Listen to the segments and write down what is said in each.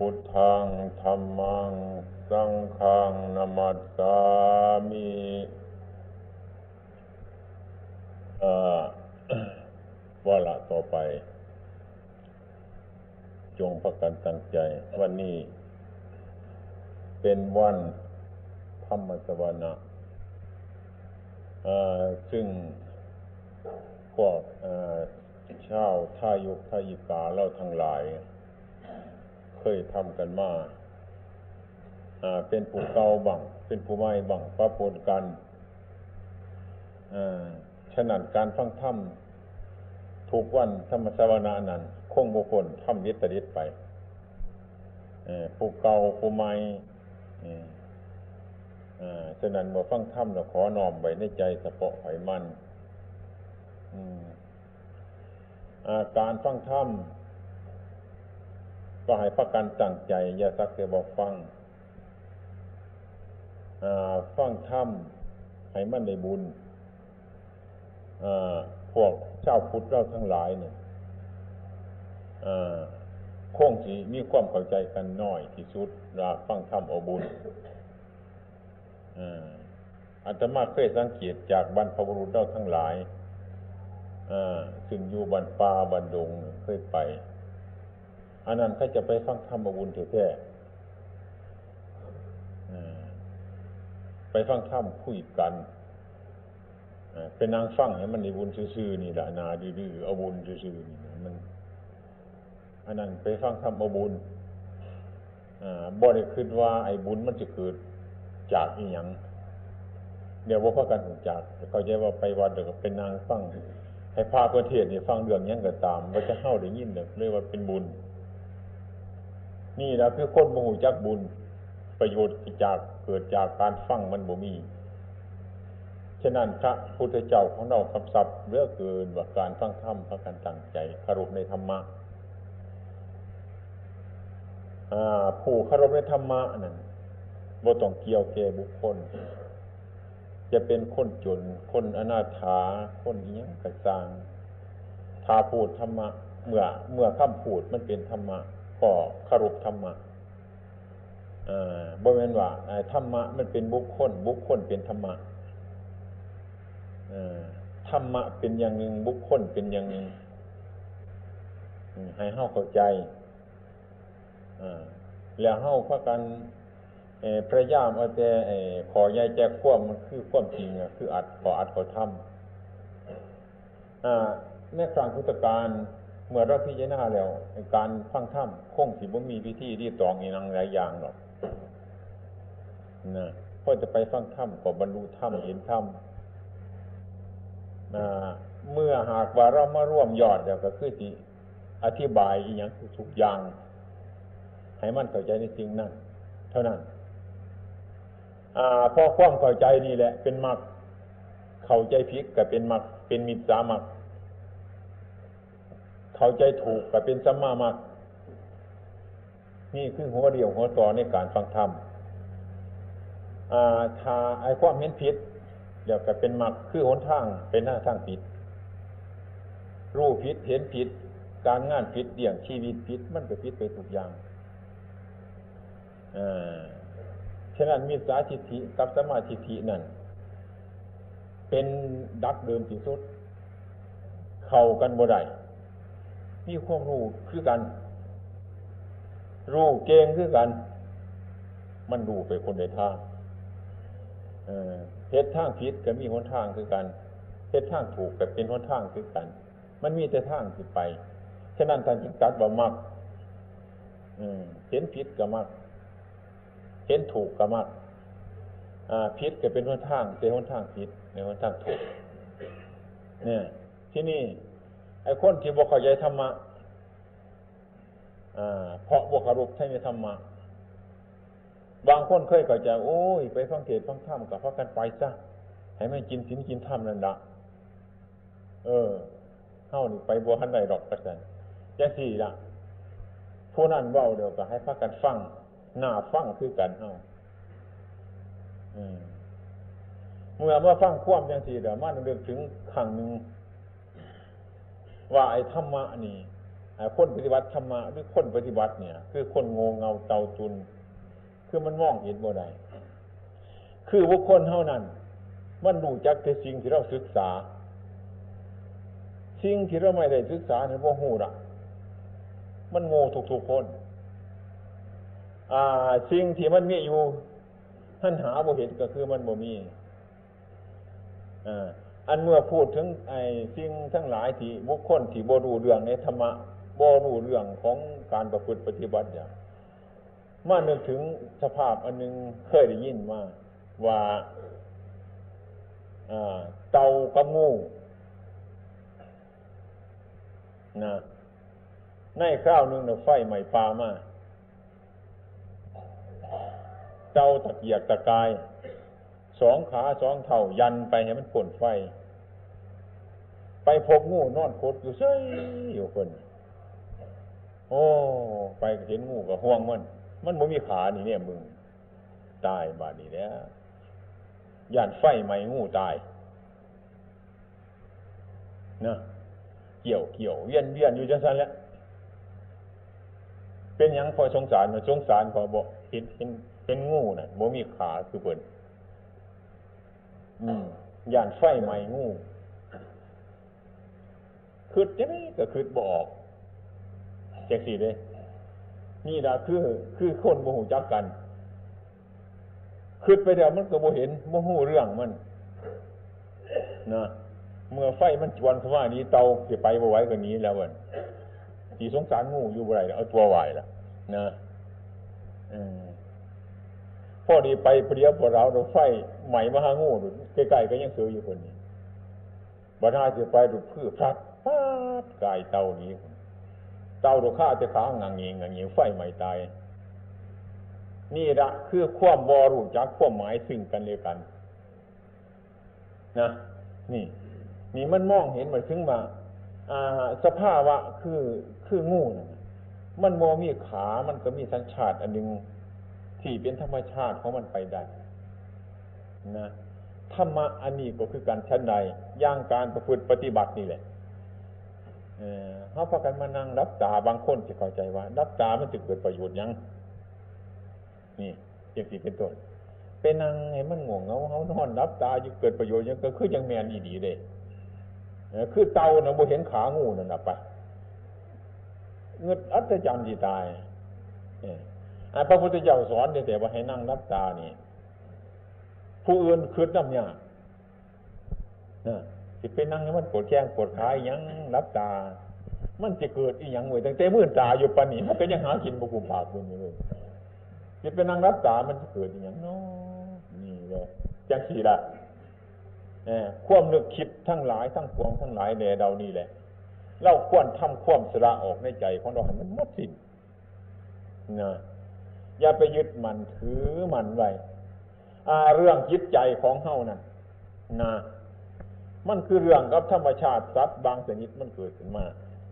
พุทธังธัมมังสังฆังนะมัสสามิวาระต่อไปจงพากันตั้งใจวันนี้เป็นวันธรรมสวนะซึ่งพวกชาวทายุกทายิกาเราทั้งหลายเคยทำกันมาเป็นผู้เก่าบ้างเป็นผู้ใหม่บ้างปะปนกันฉะนั้นการฟังธรรมทุกวันธรรมสวนะนั้นคงบ่พ้นธรรมวิตริตไปผู้เก่าผู้ใหม่ฉะนั้นเมื่อฟังธรรมเราขอน้อมไว้ในใจเฉพาะไขมันการฟังธรรมก็ให้พากันตั้งใจอย่าสักแต่บ่ฟังฟังธรรมให้มันได้บุญพวกเจ้าพุทธเราทั้งหลายเนี่ยคงสิมีความเข้าใจกันน้อยที่สุดว่าฟังธรรมเอาบุญอาตมาเคยสังเกตจากบรรพบุรุษเราทั้งหลายซึ่งอยู่บรรป่าบรรดงเคยไปอันนั้นเขาจะไปฟังธรรมเอาบุญแท้ๆไปฟังธรรมคุยกันเป็นนางฟังให้มันได้บุญซื่อๆนี่แหละนาดื้อๆเอาบุญซื่อๆนี่มันอันนั้นไปฟังธรรมเอาบุญบ่ได้คิดว่าไอ้บุญมันจะเกิดจากอีหยังเดี๋ยวบ่พากันรู้จักเข้าใจว่าไปวัดแล้วก็เป็นนางฟังให้พระเพิ่นเทศน์นี่ฟังเรื่องหยังก็ตามบ่จะเฮาได้ยินเรียกว่าเป็นบุญนี่ล่ะคือคนบ่รู้จักบุญประโยชน์จากเกิดจากการฟังมันบ่มีฉะนั้นพระพุทธเจ้าของเราคำศัพท์เหลือเกินว่าการฟังธรรมพากันตั้งใจเคารพในธรรมะผู้เคารพในธรรมะนั่นบ่ต้องเกี่ยวแก่บุคคลจะเป็นคนจนคนอนาถาคนอิหยังก็ตามถ้าพูดธรรมะเมื่อคำพูดมันเป็นธรรมะก็เคารพธรรมะบ่แม่นว่าธรรมะมันเป็นบุคคลบุคคลเป็นธรรมะธรรมะเป็นอย่างหนึ่งบุคคลเป็นอย่างหนึ่งให้เฮาเข้าใจแล้วเฮาพากันพยายามเอาแต่ขอใหญ่แจกความมันคือความจริงคืออัดขอทำในครั้งพุทธกาลเมื่อเราพิจารณาแล้วการฟังธรรมคงสิบ่มีวิธีที่ตองอีหยังหลายอย่างหรอกนะพอจะไปฟังธรรมก็บรรลุธรรมเห็นธรรมเมื่อหากว่าเรามาร่วมยอดแล้วก็คือสิอธิบายอีหยังทุกอย่างให้มันเข้าใจในสิ่งนั้นเท่านั้นพอความเข้าใจนี่แหละเป็นมรรคเข้าใจผิดก็เป็นมรรคเป็นมิจฉามรรคเข้าใจถูกก็เป็นสัมมามรรคนี่คือหัวเดียวหัวต่อในการฟังธรรมถ้าไอ้ความเห็นผิดเดี๋ยวก็เป็นมรรคคือหนทางเป็นหน้าทางผิดรู้ผิดเห็นผิดการงานผิดเลี้ยงชีวิตผิดมันก็ผิดไปทุกอย่างฉะนั้นมิจฉาทิฏฐิกับสัมมาทิฏฐินั่นเป็นดักเดิมที่สุดเข้ากันบ่ได้มีความรู้คือกันรู้เก่งคือกันมันรู้ไปคนใดทางเฮ็ดทางผิดก็มีหนทางคือกันเฮ็ดทางถูกก็เป็นหนทางคือกันมันมีแต่ทางสิไปฉะนั้นท่านจึงตรัสว่ามรรคเห็นผิดก็มรรคเห็นถูกก็มรรคผิดก็เป็นหนทางแต่หนทางผิดในหนทางถูกเนี่ยที่นี่ไอ้คนที่บ่เข้าใจธรรมะเพราะบ่เคารพในธรรมะบางคนเคยเข้าใจโอ้ยไปฟังเทศน์ฟังธรรมก็พากันไปซะให้มันกินศีลกินธรรมนั่นล่ะเฮานี่ไปบ่ทันได้ดอกว่าซั่นจังซี่ล่ะผู้นั้นเว้าเดี๋ยวก็ให้พากันฟังน่าฟังคือกันเฮาเมื่อมาฟังความจังซี่เดี๋ยวมันนึกถึงครั้งนึงว่าไอ้ธรรมะนี่คนปฏิบัติธรรมะหรือคนปฏิบัติเนี่ยคือคนโง่เงาเตาตุนคือมันมองเห็นบ่ได้คือบุคคลเท่านั้นมันรู้จักแต่สิ่งที่เราศึกษาสิ่งที่เราไม่ได้ศึกษาเนี่ยบ่ฮู้ล่ะมันโง่ทุกๆคนสิ่งที่มันมีอยู่ท่านหาบ่เห็นก็คือมันบ่มีอันเมื่อพูดถึงไอ้สิ่งทั้งหลายที่บุคคลที่บ่รู้เรื่องในธรรมะบ่รู้เรื่องของการประพฤติปฏิบัติอย่างมานึกถึงสภาพอันนึงเคยได้ยินมาว่าเต่ากับงูนะในคราวนึงไฟไหม้ป่ามาเต่าตะเกียกตะกายสองขาสองเท่ายันไปให้มันพ่นไฟไปพบงูนอนคดอยู่เฉยอยู่คนโอ้ไปเห็นงูก็ห่วงมันบ่มีขานี่เนี่ยมึงตายบาดนี้แล้วย่านไฟไหม้งูตายนะเกี่ยวเวียนอยู่จังซั่นแหละเป็นหยังพอสงสารมันสงสารพอบ่เห็นงูน่ะบ่มีขาคือเพิ่นย่านไฟไหม้งูคิดจังได๋ก็คิดบ่ออกจังซี่เด้นี่ล่ะคือคนบ่ฮู้จักกันคิดไปแล้วมันก็บ่เห็นบ่ฮู้เรื่องมันนะเมื่อไฟมันจวนเข้ามานี้เตาสิไปบ่ไหวก็หนีแล้วมันสิสงสารงูอยู่บ่ได้เอาตัวไหวล่ะนะพอดีไปเปรียบบ่ราวรถไฟไหม้มาหางูใกล้ๆก็ยังซื้ออยู่คนนี้บ่น่าสิไปดูพืชพลัดปาดกายเตานี้เตาโดฆ่าจะขางังเงียไฟไหม้ตายนี่ละคือความบ่รู้จักความหมายซึ่งกันและกันนะนี่มันมองเห็นมันถึงว่าสภาวะคืองูน่ะมันบ่มีขามันก็มีสัญชาติอันนึงที่เป็นธรรมชาติของมันไปได้นะธรรมะอันนี้ก็คือการชั้นใดย่างการประพฤติปฏิบัตินี่แหละเฮาพากันมานั่งรับตาบางคนสิเข้าใจว่ารับตามันสิเกิดประโยชน์หยังนี่จังซี่เป็นต้นไปนั่งให้มันง่วงเหงาเฮานอนรับตาอยู่เกิดประโยชน์หยังก็คือจังแม่นอีหลีเด้คือเต่าน่ะบ่เห็นขางูนั่นน่ะไปเงิดอัศจรรย์สิตายพระพุทธเจ้าสอนแต่ว่าให้นั่งรับตานี่ผู้อื่นคิดนำยากสิไปนั่งให้มันปวดแข้งปวดขาอีหยังรับตามันจะเกิดอีหยังไว้ตั้งแต่มื้อตาอยู่ปานนี้มันก็ยังหากินบ่กุมปากอยู่นี่เลยสิไปนั่งรับตามันจะเกิดอีหยังเนาะนี่แหละจังซี่ล่ะความนึกคิดทั้งหลายทั้งปวงทั้งหลายแด่เรานี่แหละเราควรทำความสละออกในใจของเราให้มันหมดสิ้นนะอย่าไปยึดมันถือมันไว้เรื่องจิตใจของเฮานั่นนะมันคือเรื่องกับธรรมชาติสัตว์บางชนิดมันเกิดขึ้นมา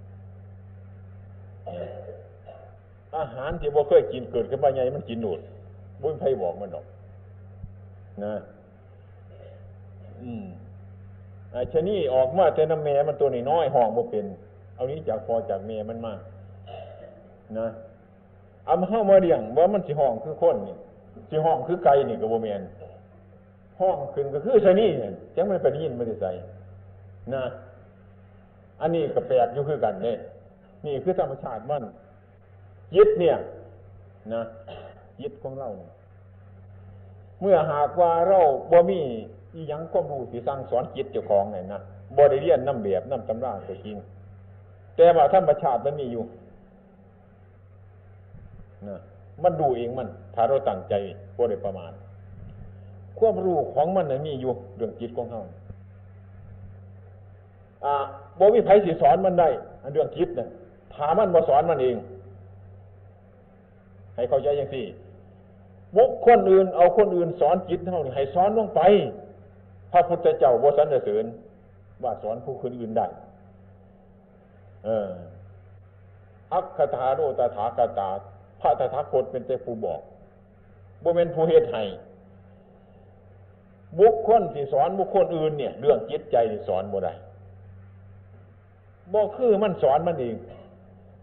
อาหารที่บ่เคยกินเกิดขึ้นมาใหญ่มันกินหนูดบ่มีใครบอกมันหรอกนะชะนีออกมาแต่น้ำแม่มันตัวน้อยๆห้องบ่เป็นเอานี้จากพอจากแม่มันมานะเอามาเฮามาเลี้ยงว่ามันสิห้องคือคนนี่สิห้องคือไก่นี่ก็บ่แม่นห้องขึ้นก็คือชะนีเนี่ยจังมันไปได้ยินมันได้ใส่นะอันนี้ก็แปลกอยู่คือกันนี่นี่คือธรรมชาติมันจิตเนี่ยนะจิตของเราเมื่อหากว่าเราบ่มีอีหยังความรู้ที่สั่งสอนจิตเจ้าของเนี่ยนะบ่ได้เรียนนำแบบนำตำราก็จริงแต่ว่าธรรมชาติมันมีอยู่นะมันดูเองมันถ้าเราตั้งใจบ่ได้ประมาทความรู้ของมันน่ะมีอยู่เรื่องจิตของเฮาบ่มีไผสิสอนมันได้เรื่องจิตน่ะถ้ามันบ่สอนมันเองให้เข้าใจจังซี่บุคคลอื่นเอาคนอื่นสอนจิตเฮานี่ให้สอนลงไปพระพุทธเจ้าบ่สรรเสริญว่าสอนผู้คนอื่นได้อัคคทาโรตถาคตาพระตถาคตเป็นแต่ผู้บอกบ่แม่นผู้เฮ็ดให้บุคคลที่สอนบุคคลอื่นเนี่ยเรื่องจิตใจที่สอนบ่ได้บ่คือมันสอนมันเอง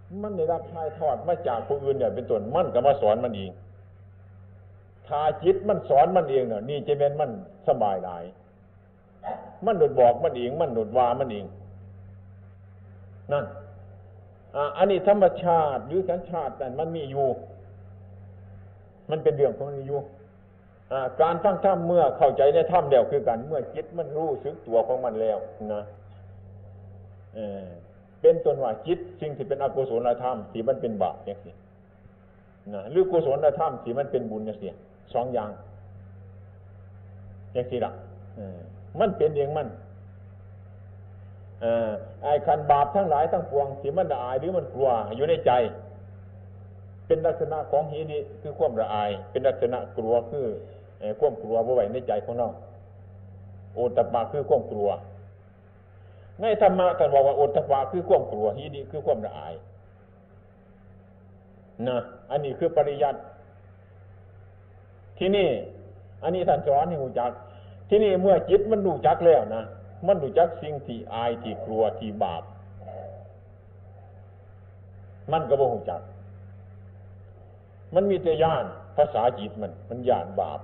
มันได้รับถ่ายทอดมาจากผู้อื่นเนี่ยเป็นต้นมันก็มาสอนมันเองถ้าจิตมันสอนมันเองเนี่ยนี่จะเป็นมันสบายหลายมันโดดบอกมันเองมันโดดว่ามันเองนั่นอันนี้ธรรมชาติหรือสัญชาติแต่มันมีอยู่มันเป็นเรื่องของมันอยู่การฟังธรรมเมื่อเข้าใจในธรรมแล้วคือกันเมื่อจิตมันรู้สึกตัวของมันแล้วนะเป็นต้นว่าจิตสิ่งที่เป็นอกุศลธรรมที่มันเป็นบาปอย่างนี้นะหรือกุศลธรรมที่มันเป็นบุญอย่างนี้สองอย่างอย่างนี้ละมันเป็นเองมันไอ้ขันบาปทั้งหลายทั้งปวงที่มันละอายหรือมันกลัวอยู่ในใจเป็นลักษณะของหิริคือความละอายเป็นลักษณะกลัวคือความกลัวบ่ไว้ในใจของเราโอตตัปปะคือความกลัวในธรรมะท่านบอกว่าโอตตัปปะคือความกลัวหิริคือความละอายนะอันนี้คือปริยัติที่นี่อันนี้ท่านสอนให้รู้จักที่นี่เมื่อจิตมันรู้จักแล้วนะมันรู้จักสิ่งที่อายที่กลัวที่บาปมันก็บ่รู้จักมันมีแต่ย่านภาษาจิตมันย่านบาป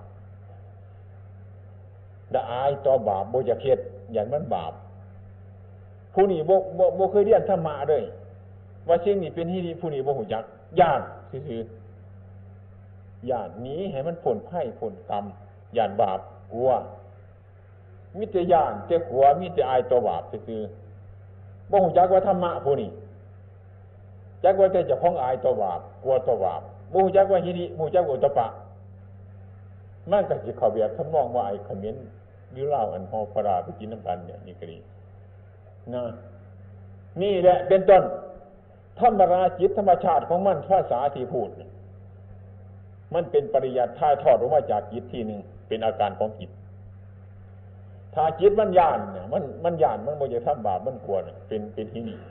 ละอายต่อบาปบ่อยากเฮ็ดอย่างมันบาปผู้นี้บ่เคยเรียนธรรมะเลยว่าสิ่งนี้เป็นที่ดีผู้นี้บ่รู้จักย่านซื่อๆย่านหนีให้มันพ้นภัยพ้นกรรมย่านบาปกลัวมีแต่ย่านแต่กลัวมีแต่อายต่อบาปซื่อๆบ่รู้จักว่าธรรมะผู้นี้จักว่าแต่เจ้าของอายต่อบาปกลัวต่อบาปบ่รู้จักว่าหิริบ่รู้จักว่าโอตตัปปะมันก็สิเข้าแบบทำนองว่าไอ้เขมิ้นหรือลาวอันฮอปลาไปกินน้ำกันเนี่ยนี่ก็ดีนะนี่แหละเป็นต้นธรรมราจิตธรรมชาติของมันภาษาที่พูดมันเป็นปริยัติถ่ายทอดออกมาจากจิตที่หนึ่งเป็นอาการของจิตถ้าจิตมันย่านเนี่ยมันย่านมันบ่จะทำบาปมันกลัวเนี่ยเป็นที่นี่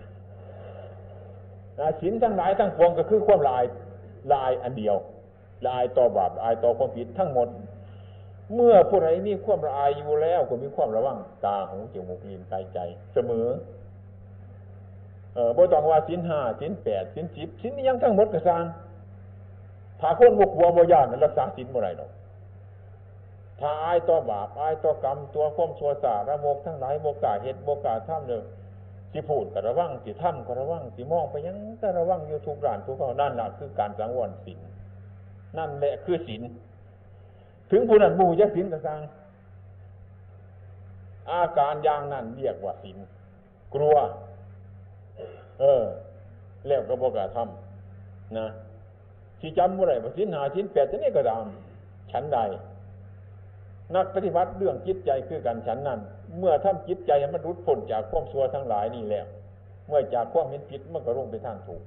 ศีลทั้งหลายทั้งปวงก็คือความละอายอันเดียวละอายต่อบาปละอายต่อความผิดทั้งหมดเมื่อผู้ใดมีความละอายอยู่แล้วก็มีความระวังตาหูจมูกลิ้นกายใจเสมอบ่ต้องว่าศีล5ศีล8ศีล10ศีลนี้ยังทั้งหมดก็สร้างถ้าคนบ่กลัวบ่ย่านรักษาศีลบ่ได้ดอกถ้าอายต่อบาปอายต่อกรรมตัวความชั่วช้าระโมกทั้งหลายบ่กล้าเฮ็ดบ่กล้าทำเลยสิพูดก็ระวังสิทำก็ระวังสิมองไปยังก็ระวังอยู่ทุกด้านทุกข้อนั่นล่ะคือการสังวรศีลนั่นแหละคือศีลถึงผู้นั้นบ่รู้จักศีลก็สร้างอาการอย่างนั้นเรียกว่าศีลกลัวแล้วก็บ่กล้าทำนะสิจำบ่ได้ว่าศีล5ศีล8จังได๋ก็ตามฉันใดนักปฏิบัติเรื่องจิตใจคือกันฉันนั้นเมื่อทำจิตใจให้มันหลุดพ้นจากความชั่วทั้งหลายนี่แล้วเมื่อจากความเห็นผิดมันก็ลงไปทางถูก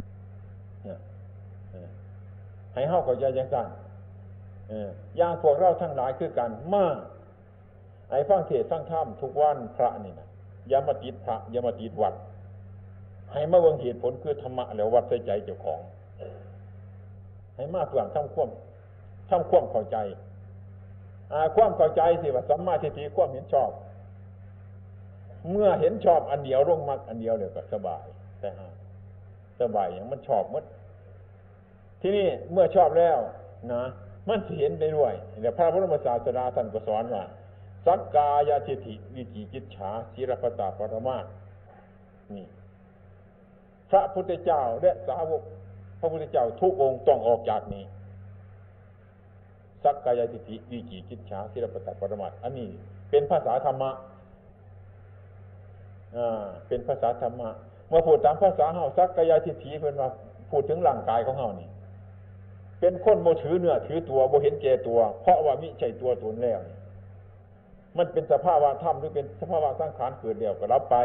ให้เฮาเข้าใจจังซั่นอย่างพวกเราทั้งหลายคือกันมาไอ้ฟังเทศน์ฟังธรรมทุกวันพระนี่นะอย่ามาติดพระอย่ามาติดวัดให้มาเบิ่งเหตุผลคือธรรมะแล้ววัดใส่ใจเจ้าของให้มาเพื่อทำความเข้าใจความเข้าใจสิว่าสัมมาทิฏฐิความเห็นชอบเมื่อเห็นชอบอันเดียวลงมรรคอันเดียวเลยก็สบายแต่สบายอย่างมันชอบหมดที่นี่เมื่อชอบแล้วนะมันสิเห็นได้ด้วยเดี๋ยวพระพุทธศาสนาท่านก็สอนว่าสักกายทิฏฐิวิจิกิจฉาศีลปตปรมาสนี่พระพุทธเจ้าและสาวกพระพุทธเจ้าทุกองค์ต้องออกจากนี้สักกายทิฏฐิวิจิกิจฉาศีลปตปรมาสอันนี้เป็นภาษาธรรมะเป็นภาษาธรรมะเมื่อพูดตามภาษาเฮาสักกายทิฏฐิเพิ่นว่าพูดถึงร่างกายของเฮานี่เป็นคนบ่ถือเนื้อถือตัวบ่เห็นแก่ตัวเพราะว่ามิใช่ตัวตนแล้วมันเป็นสภาวะธรรมหรือเป็นสภาวะสังขารเกิดแล้วก็รับไป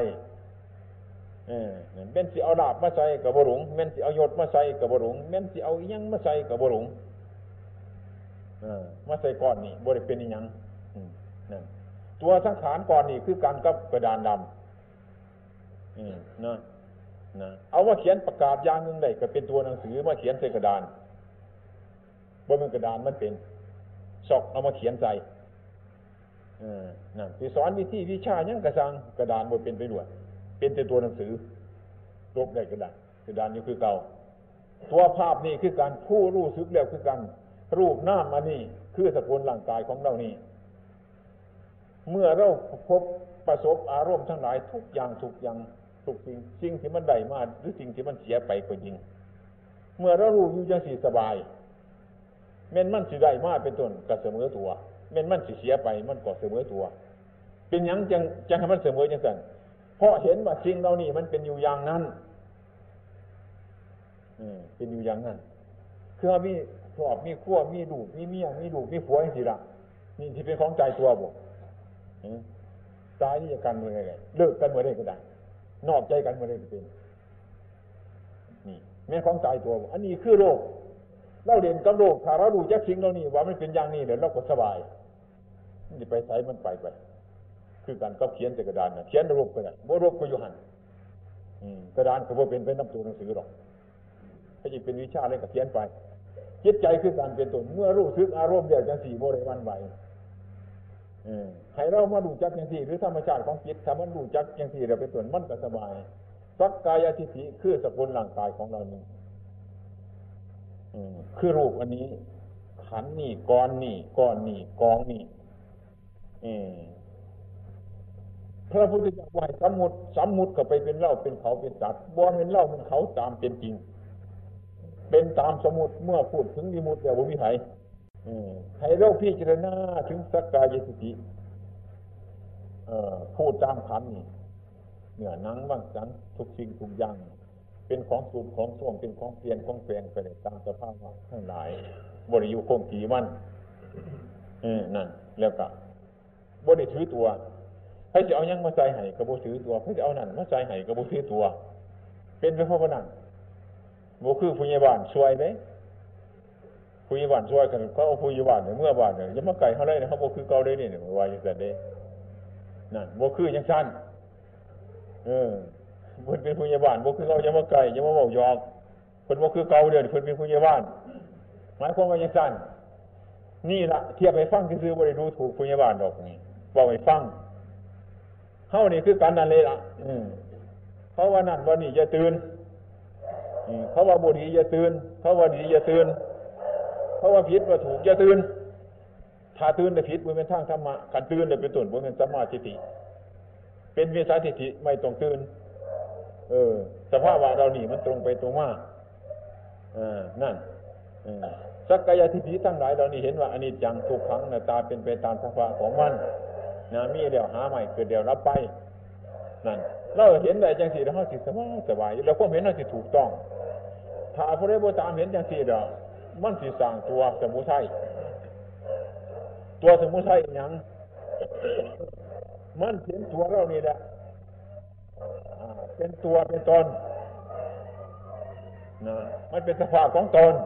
แม่นสิเอาลาภมาใส่ก็บ่หลงแม่นสิเอายศมาใส่ก็บ่หลงแม่นสิเอาอิหยังมาใส่ก็บ่หลงมาใส่ก้อนนี่บ่ได้เป็นอิหยังนั่นตัวสังขารก้อนนี่คือกันกับกระดานดำนะเอามาเขียนประกาศอย่างนึงได้ก็เป็นตัวหนังสือมาเขียนใส่กระดานบ่เป็นกระดานมันเป็นซอกเอามาเขียนใส่นั่นสิสอนวิธีวิชาหยังกระซังกระดานบ่เป็นไปด้วยเป็นแต่ตัวหนังสือลบได้กระดานกระดานอยู่คือเก่าตัวภาพนี่คือการผู้รู้สึกแล้วคือกันรูปนามอันนี้คือสกุลร่างกายของเรานี่เมื่อเราพบประสบอารมณ์ทั้งหลายทุกอย่างทุกสิ่งที่มันได้มาหรือสิ่งที่มันเสียไปก็จริงเมื่อเรารู้อยู่จังสิสบายแม้นมันสิได้มาเป็นต้นก็เสมอตัวแม้นมันสิเสียไปมันก็เสมอตัวเป็นหยังจังให้มันเสมอจังซั่นเพราะเห็นว่าสิ่งเหล่านี้มันเป็นอยู่อย่างนั้นเป็นอยู่อย่างนั้นคือมีครอบมีครัวมีลูกมีเมียมีลูกมีผัวจังซี่ล่ะนี่ที่เป็นของใจตัวบ่ตายนี่จะกันเมื่อไงเลิกกันเมื่อใดก็ได้นอกใจกันเมื่อใดก็เป็นนี่แม่ของใจตัวอันนี้คือโรคเราเด่นกับโรคถ้าเราดูจักสิ่งเหล่านี้ว่ามันเป็นอย่างนี้เดี๋ยวเราก็สบายนี่ไปใส่มันไปคือการก็เขียนแต่กระดานนะเขียนรูปก็ได้บ่รูปก็อยู่หั่นกระดานก็บ่เป็นน้ำตัวหนังสือหรอกถ้าจะเป็นวิชาอะไรก็เขียนไปจิตใจคือการเป็นตนเมื่อรู้สึกอารมณ์เดียวจังสี่บ่ได้วันไหวให้เรามาดูจักจังสี่หรือธรรมชาติของจิตถ้ามันดูจักจังสี่เดี๋ยวเป็นตนมันก็สบายสักกายทิฏฐิคือสกุลร่างกายของเรานี่คือรูปอันนี้ขันธ์นี่ก้อนนี่ก้อนนี่กองนี่พระพุทธเจ้าว่าสมมุติก็ไปเป็นเราเป็นเขาเป็นสัตว์บ่เป็นเราเป็นเขาตามเป็นจริงเป็นตามสมมุติเมื่อพูดถึงวิมุตติแล้วบ่มีไผให้เราพิจารณาถึงสักกายทิฏฐิพูดตามขันธ์นี่เนื้อหนังบางสันทุกสิ่งทุกอย่างเป็นของสูบของส้วมเป็นของเปลี่ยนของแปลงไปตามสภาพทั้งหลายบ่ได้อยู่คงที่มันนั่นแล้วก็บ่ได้ถือตัวให้จะเอายังมาใส่ให้ก็บ่ถือตัวให้จะเอานั่นมาใส่ให้ก็บ่ถือตัวเป็นไปเพราะว่านั่นบ่คือผู้ใหญ่บ้านช่วยเด้ผู้ใหญ่บ้านช่วยกันเขาเอาผู้ใหญ่บ้านเมื่อบ้านเนี่ยอย่ามาไกลเฮาเลยนะเฮาบ่คือเก่าเด้นี่ว่าจังซั่นเด้นั่นบ่คือจังซั่นเพิ่นเป็นผู้ใหญ่บ้านบ่คือเก่าอย่ามาไกลอย่ามาเว้าหยอกเพิ่นบ่คือเก่าเด้อเพิ่นเป็นผู้ใหญ่บ้านหมายความว่าจังซั่นนี่ล่ะเทียบให้ฟังซื่อๆบ่ได้ดูถูกผู้ใหญ่บ้านดอกนี่เว้าให้ฟังเฮานี่คือกันนั่นเลยล่ะเขาว่านั่นว่านี่อย่าตื่นเขาว่าบ่ดีอย่าตื่นเขาว่าดีอย่าตื่นเขาว่าผิดว่าถูกอย่าตื่นถ้าตื่นได้ผิดบ่แม่นทางธรรมะคันตื่นได้เป็นต้นบ่แม่นสัมมาทิฏฐิเป็นวิสัยทิฏฐิไม่ต้องตื่นสภาพว่าเรานี่มันตรงไปตรงมานั่นสักกายทิฏฐิทั้งหลายเรานี่เห็นว่าอนิจจังทุกขังอนัตตาเป็นไปตามสภาวะของมันมีเดี๋ยวหาใหม่เกิดเดี๋ยวรับไปนั่นเราเห็นได้จังสี่แล้วเฮาสิสบายแล้วความเห็นเฮาสิถูกต้องถ้าผู้ใดบ่ตามเห็นจังสี่ดอกมันสิสร้างตัวสมุทัยตัวสมุทัยหยังมันเห็นตัวเรานี่แหละเป็นตัวเป็นตนมันเป็นสภาพของตน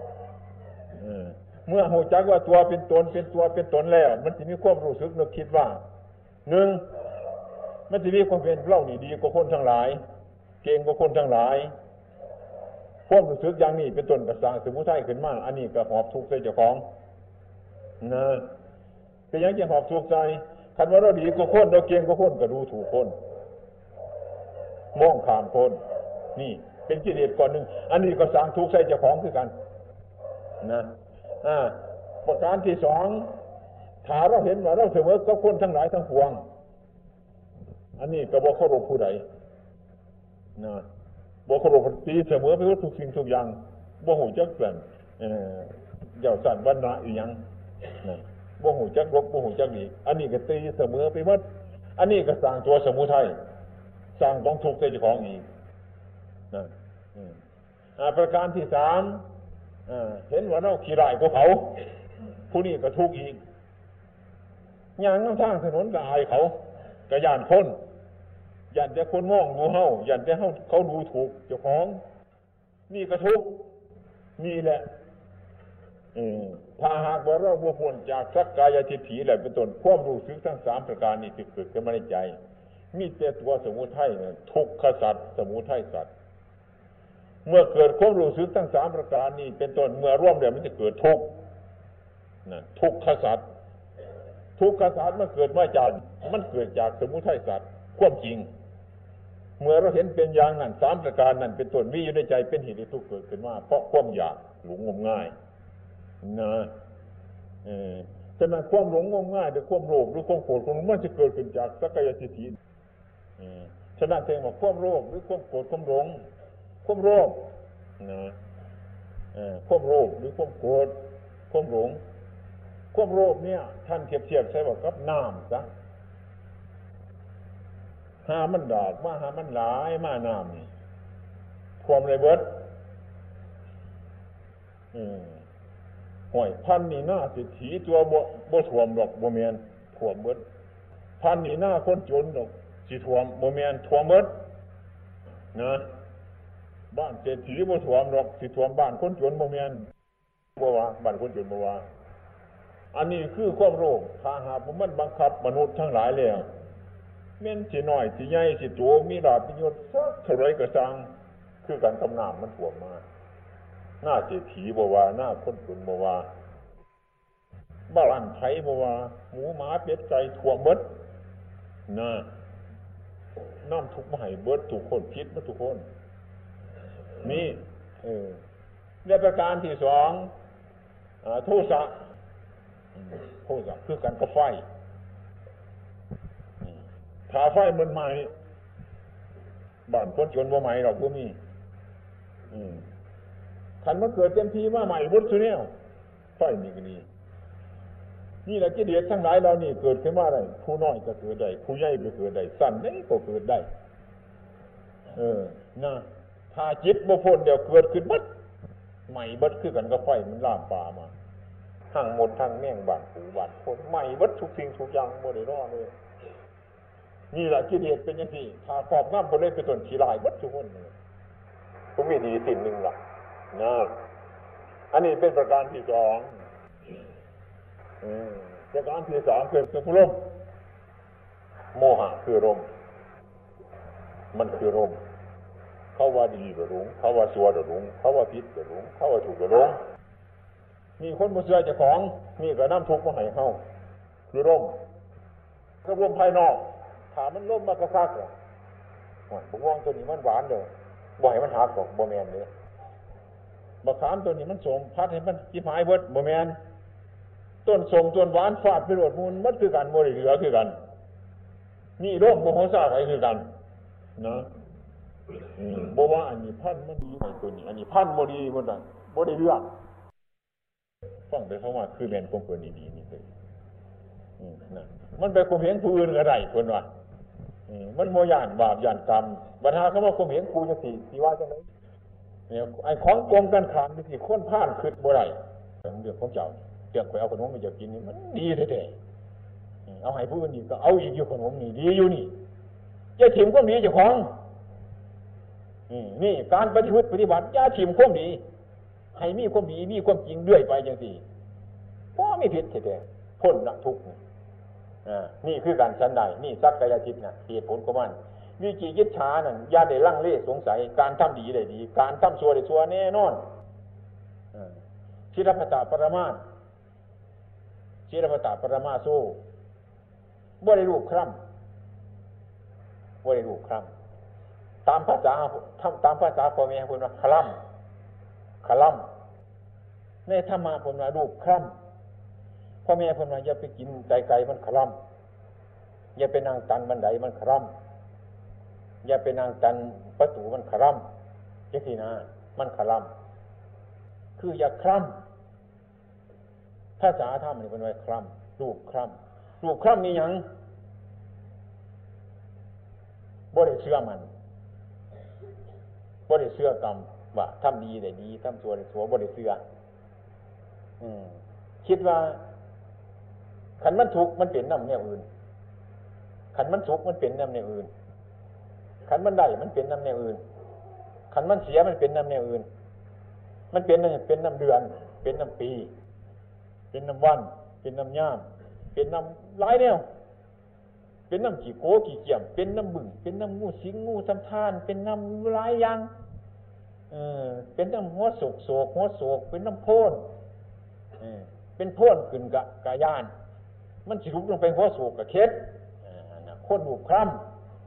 เมื่อหูจักว่าตัวเป็นตนเป็นตัวเป็นตนแล้วมันจะมีความรู้สึกนึกคิดว่าหนึ่งมันจะมีความเป็นเรานี่ดีกว่าคนทั้งหลายเก่งกว่าคนทั้งหลายความรู้สึกอย่างนี้เป็นต้นกระสางสมุทัยขึ้นมาอันนี้ก็หอบทุกข์ใส่เจ้าของเป็นอย่างจะหอบทุกข์ใจคันว่าเราดีกว่าคนเราเก่งกว่าคนก็ดูถูกคนมองข้ามคนนี่เป็นกิเลสก่อนหนึ่งอันนี้ก็สร้างทุกข์ใส่เจ้าของคือกันประการที่สองถ้าเราเห็นว่าเราเสมอกับคนทั้งหลายทั้งปวงอันนี้ก็บ่เคารพผู้ใดบ่เคารพตีเสมอไปว่าทุกสิ่งทุกอย่างบ่ฮู้จักแปลนเจ้าสั่นวรรณะอีหยังบ่ฮู้จักลบบ่ฮู้จักดีอันนี้ก็ตีเสมอไปหมดอันนี้ก็สร้างตัวสมุทัยสร้างกองทุกข์ใส่เจ้าของอีกประการที่สามเห็นว่าเราขี้ร้ายกว่าเขาผู้นี้ก็ทุกข์อีกย่างทางถนนก็อายเขาก็ย่านคนย่านแต่คนมองดูเฮาย่านแต่เขาดูถูกเจ้าของนี่ก็ทุกข์นี่แหละถ้าหากว่าเราบ่พ้นจากสักกายทิฏฐิแล้วเป็นต้นความรู้สึกทั้งสามประการนี้ที่เกิดขึ้นมาในใจมีแต่ตัวสมุทัยทุกขสัตว์สมุทัยสัตว์เมื่อเกิดความรู้สึกทั้งสามประการนี้เป็นต้นเมื่อร่วมแล้วมันจะเกิดทุกข์ทุกขสัตว์ทุกขสัตว์มันเกิดมาจากมันเกิดจากสมุทัยสัตว์ความจริงเมื่อเราเห็นเป็นอย่างนั้นสามประการนั้นเป็นต้นมีอยู่ในใจเป็นเหตุให้ทุกข์เกิดขึ้นมาเพราะความอยากหลงงมง่ายนะฉะนั้นความหลงงมง่ายหรือความโลภหรือความโกรธความหลงมันจะเกิดขึ้นจากสักกายทิฏฐิฉะนั้นเองว่าความโลภหรือความโกรธความหลงความโลภนะความโลภหรือความโกรธความหลงความโลภเนี่ยท่านเทียบใช่ว่ากับน้ำซะหามันดอกมาหามันหลายมาน้ำนี่ความไรเบิดห่วยพันนี่หน้าสิถีตัวบ่ถ่วมดอกบ่แม่นถ่วมเบิดพันนี่หน้าคนจนดอกสิถ่วมบ่แม่นถ่วมเบิดนะบ้านเศรษฐีบ่ถ่วมดอกสิถ่วมบ้านคนจนบ่แม่นบ่ว่าบ้านคนจนบ่ว่าอันนี้คือความโลภถ้าหากมันบังคับมนุษย์ทั้งหลายแล้วแม่นสิน้อยสิใหญ่สิโตมีลาภมียศสักเท่าไรก็สั่งคือการกำน้ำมันท่วมมาหน้าเศรษฐีบ่ว่าหน้าคนจนบ่ว่าบ้านไผบ่ว่าหมูหมาเป็ดไก่ท่วมเบิดนะน้ำทุกข์มาให้เบิดทุกคนคิดมาทุกคนนี่ในประการที่สองโทสะโทสะคือการกระไฟถ้าไฟมันใหม่บ้านคนจนบ่ใหม่หรอกบ่มีคันมันเกิดเต็มทีมาใหม่หมดซุเนี่ยไฟนี่ก็นี่แหละกิเลสทั้งหลายเรานี่เกิดขึ้นมาได้ผู้น้อยก็เกิดได้ผู้ใหญ่ก็เกิดได้สั้นได้ก็เกิดได้นะถ้าจิตบ่พ้นเดี๋ยวเกิดขึ้นบัดใหม่บัดคือกันกับไฟมันลามปลามาทั้งหมดทั้งแม่งบ้านปู่บ้านคนใหม่บัดทุกสิ่งทุกอย่างบ่ได้รอเลยนี่แหละกิเลสเป็นอย่างนี้ถ้าครอบงำบ่เลยเป็นต้นขี้ลายบัดทุกคนเลยก็มีดีสิ่งหนึ่งล่ะนะอันนี้เป็นประการที่สองประการที่สามคือลมโมหะคือลมมันคือลมเขาว่าดีก็หลงเขาว่าชั่วก็หลงเขาว่าผิดก็หลงเขาว่าถูกก็หลงมีคนบ่เชื่อเจ้าของนี่ก็นำทุกข์มาให้เฮาคือลมก็ลมภายนอกถ้ามันลมมากระซักอ่ะบ่ง่วงตัวนี้มันหวานเด้อบ่ให้มันหักดอกบ่แม่นเด้มะขามตัวนี้มันสมพัดให้มันสิหายเบิดบ่แม่นต้นสมต้นหวานฟาดไปโลดมูลมันคือกันบ่ได้เหลือคือกันนี่ลมโมโหซ่าไผคือกันนะบ่ว่าอันนี้พันธุ์มันดีไอ้ตัวนี้อันนี้พันธุ์บ่ดีหมดอ่ะบ่ได้เรื่องฟังไปเพราะว่าคือแม่นของเพิ่นนี่ดีนี่คือนะมันไปข่มเหงผู้อื่นก็ได้เพิ่นว่ามันบ่ย่านบาปย่านกรรมบัดหาคำว่าข่มเหงผู้จังซี่สิว่าจังได๋เนี่ยไอ้ของกรมกันข้ามนี่สิคนพลาดคิดบ่ได้เรื่องของเจ้าเรื่องข่อยเอาขนมมาจะกินนี่มันดีแท้ๆเอาให้ผู้อื่นอีกก็เอาอีกอยู่ขนมนี่ดีอยู่นี่จะถิ่มความดีเจ้าของนี่การปฏิบัติอย่าถิ่มความดีให้มีความดีมีความจริงเรื่อยไปจังซี่บ่มีผิดแท้ๆพ้นละทุกข์นี่คือการชั้นใดนี่สักกายทิฏฐินะเหตุผลของมันวิจิกิจฉานั่นอย่าได้ลังเลสงสัยการทำดีได้ดีการทำชั่วได้ชั่วแน่นอนชิรพัตตปรมาชิรพัตตปรมาโซบ่ได้รูปคร่ำบ่ได้รูปคร่ำตามภาษาพ่อแม่เพิ่นว่าคล่ำในธรรมะเพิ่นว่ารูปคร่ำพ่อแม่เพิ่นว่าอย่าไปกินไก่มันคล่ำอย่าไปนั่งตันบันไดมันคล่ำอย่าไปนั่งตันประตูมันคล่ำจังซี่นะมันคล่ำคืออย่าคล่ำภาษาธรรมนี่เพิ่นว่าคล่ำรูปคล่ำมีหยังบ่ได้เชื่อมันบ่ได้เชื่อกรรมว่าทำดีได้ดีทำชั่วได้ชั่วบ่ได้เชื่อคิดว่าขันมันทุกข์มันเป็นน้ำแนวอื่นขันมันสุขมันเป็นน้ำแนวอื่นขันมันได้มันเป็นน้ำแนวอื่นขันมันเสียมันเป็นน้ำแนวอื่นมันเป็นน้ำเดือนเป็นน้ำปีเป็นน้ำวันเป็นน้ำย่ามเป็นน้ำหลายแนวเป็นน้ำขี้โกขี้เกียมเป็นน้ำบึ่งเป็นน้ำงูสิงงูทำท่านเป็นน้ำหลายอย่างเป็นน้ำหัวโศกเป็นน้ำโพนเป็นโพนขึ้นกะย่านมันสิลุกลงไปหัวโศกกะเค็ดคนหูคร่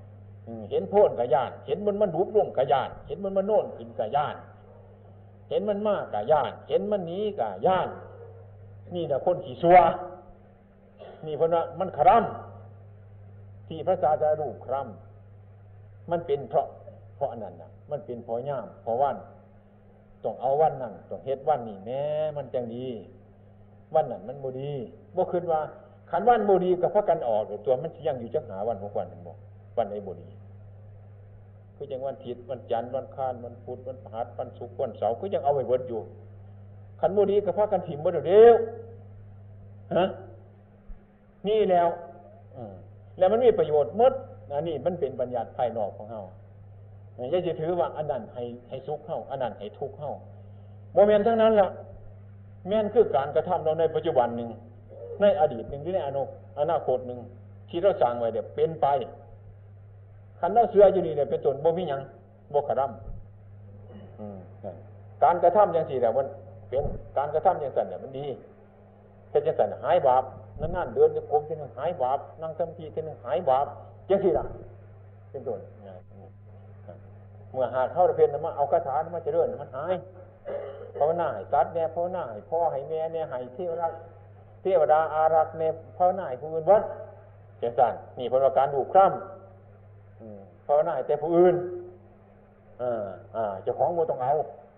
เห็นโพ่นกะย่านเห็นมันรูปร่วงกะย่านเห็นมันโน่นขึ้นกะย่านเห็นมันมากกะย่านเห็นมันหนีกะย่านนี่แหละคนขี้ซัวนี่เพราะว่ามันคร่ำที่พระศาสดารูปคร่ำมันเป็นเพราะอันนั้นนะมันเป็นเพราะย่ามเพราะวันต้องเอาวันนั้นต้องเฮ็ดวันนี้แม้มันจังดีวันนั้นมันบ่ดีบ่คิดว่าขันวันบ่ดีกับพระกันออกตัวมันสิยังอยู่จักหาวัน6วันนึงบ่วันไหนบ่ดีคือจังวันอาทิตย์วันจันทร์วันอังคารวันพุธวันพฤหัสวันศุกร์วันเสาร์คือยังเอาไว้เบิดอยู่ขันบ่ดีกับพระกันถิ่มบ่เด้อฮะนี่แล้วแล้วมันมีประโยชน์หมดอันนี้มันเป็นบัญญัติภายนอกของเฮาอย่าสิถือว่าอันนั้นให้สุขเฮาอันนั้นให้ทุกข์เฮาบ่แม่นทั้งนั้นล่ะแม่นคือการกระทำเราในปัจจุบันนึงในอดีตนึงหรือในอนาคตนึงที่เราสร้างไว้เนี่ยเป็นไปคันเราเสืออยู่นี่เนี่ยเป็นต้นบ่มีหยังบ่กระทำการกระทำจังซี่แหละมันเป็นการกระทำจังซั่นเนี่ยมันดีเฮ็ดจังซั่นหายบาปนานๆเดินจะกรมทีนึงหายบาปนั่งสมาธิทีนึงหายบาปจังซี่ล่ะเป็นต้นเมื่อหาเข้าเพียนมาเอาคาถามาเจริญมันหายภาวนาให้สัตว์เนี่ยภาวนาให้พ่อให้แม่เนี่ยให้เทวดาอารักษ์เนี่ยภาวนาให้ผู้อื่นวัดเจังซั่นนี่เพราะว่าการดูคร่ำภาวนาให้แต่ผู้อื่นเจ้าของบ่ต้องเอา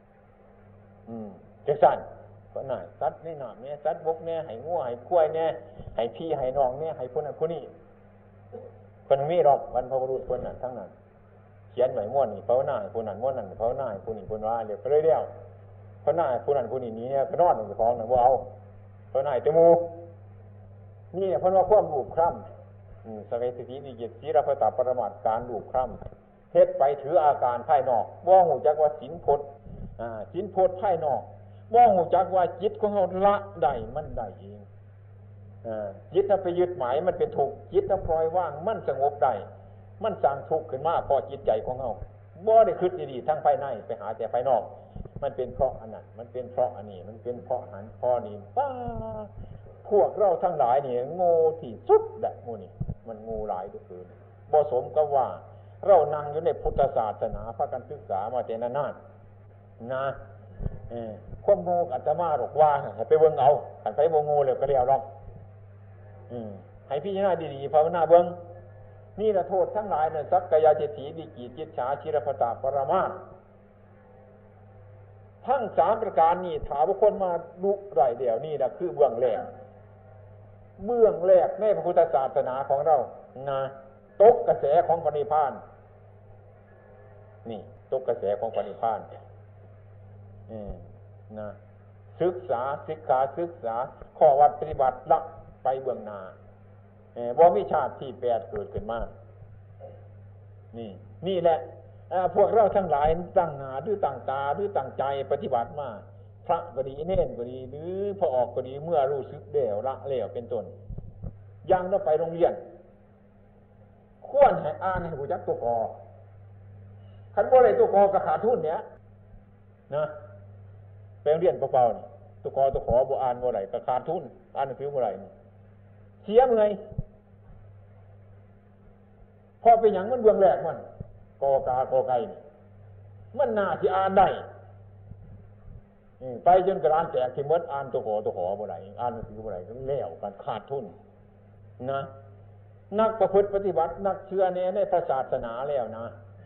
จังซั่นภาวนาสัตว์ในน้ำเนี่ยสัตว์บกเนี่ยให้งัวให้ควายเนี่ยให้พี่ให้น้องเนี่ยให้ผู้นั้นผู้นี้เพิ่นมีหรอกบรรพบุรุษเพิ่นน่ะทั้งนั้นเขียนไว้ม่วนนี่ภาวนาให้ผู้นั้นม่วนนั้นภาวนาให้ผู้นี้ผู้นั้นว่าเรียกไปเรื่อยๆภาวนาให้ผู้นั้นผู้นี้เนี่ยก็นอนอยู่ของน่ะบ่เอาภาวนาให้แต่หมู่นี่เพิ่นว่าความรูปคร่ำสเวสตินิเยศีรพตปรมาทการรูปคร่ำเฮ็ดไปถืออาการภายนอกบ่ฮู้จักว่าศีลพจน์ศีลพจน์ภายนอกบ่ฮู้จักว่าจิตของเฮาละได้มันได้เองจิตถ้าไปยึดหมายมันเป็นทุกข์จิตถ้าปล่อยว่างมันสงบได้มันสร้างทุกข์ขึ้นมาพอจิตใจของเฮาบ่ได้คิดดีๆทั้งภายในไปหาแต่ภายนอกมันเป็นเพราะอันนั้นมันเป็นเพราะอันนี้มันเป็นเพราะหันเพราะนี้ป้าพวกเราทั้งหลายนี่โง่ที่สุดแหละหมู่นี่มันโง่หลายทุกคืนบ่สมกับว่าเรานั่งอยู่ในพุทธศาสนาพากันศึกษามาแต่นานๆนะความโง่อาตมาบอกว่าให้ไปเบิ่งเอาคันไปบ่โง่แล้วก็แล้วหรอกให้พิจารณาดีๆภาวนาเบิ่งนี่ละโทษทั้งหลายนั่นสักกายทิฏฐิวิจิกิจฉาชิรพตปรมาสทั้ง3ประการนี้ถ้าบุคคลมารู้ได้แล้วนี่ล่ะคือเบื้องแรกในพระพุทธศาสนาของเรานะตกกระแสของพระนิพพานนี่ตกกระแสของพระนิพพานนะศึกษาข้อวัดปฏิบัติละไปเบื้องหน้าบ่มีชาติที่8เกิดขึ้นมานี่แหละพวกเราทั้งหลายตั้งหน้าหรือตั้งตาหรือตั้งใจปฏิบัติมาพระก็ดีเน้นก็ดีหรือพอออกก็ดีเมื่อรู้สึกแล้วละแล้วเป็นต้นอย่างเราไปโรงเรียนควรให้อ่านให้รู้จักตัวกอคันบ่ได้ตัวกอก็ขาดทุนเนี่ยนะไปโรงเรียนเปล่าๆนี่ตัวกอตัวขอบ่อ่านบ่ได้ก็ขาดทุนอ่านหนังสือบ่ได้นี่เสียเมื่อยพอเป็นหยังมันเบื้องแรกมันกอกากอไก่นี่มันน่าสิอ่านได้ไปจนกระดานแตกที่หมดอ่านตัวขอบ่ได้อ่านหนังสือบ่ได้ก็แล้วกันขาดทุนนะนักประพฤติปฏิบัตินักเชื่อในพระศาสนาแล้วนะ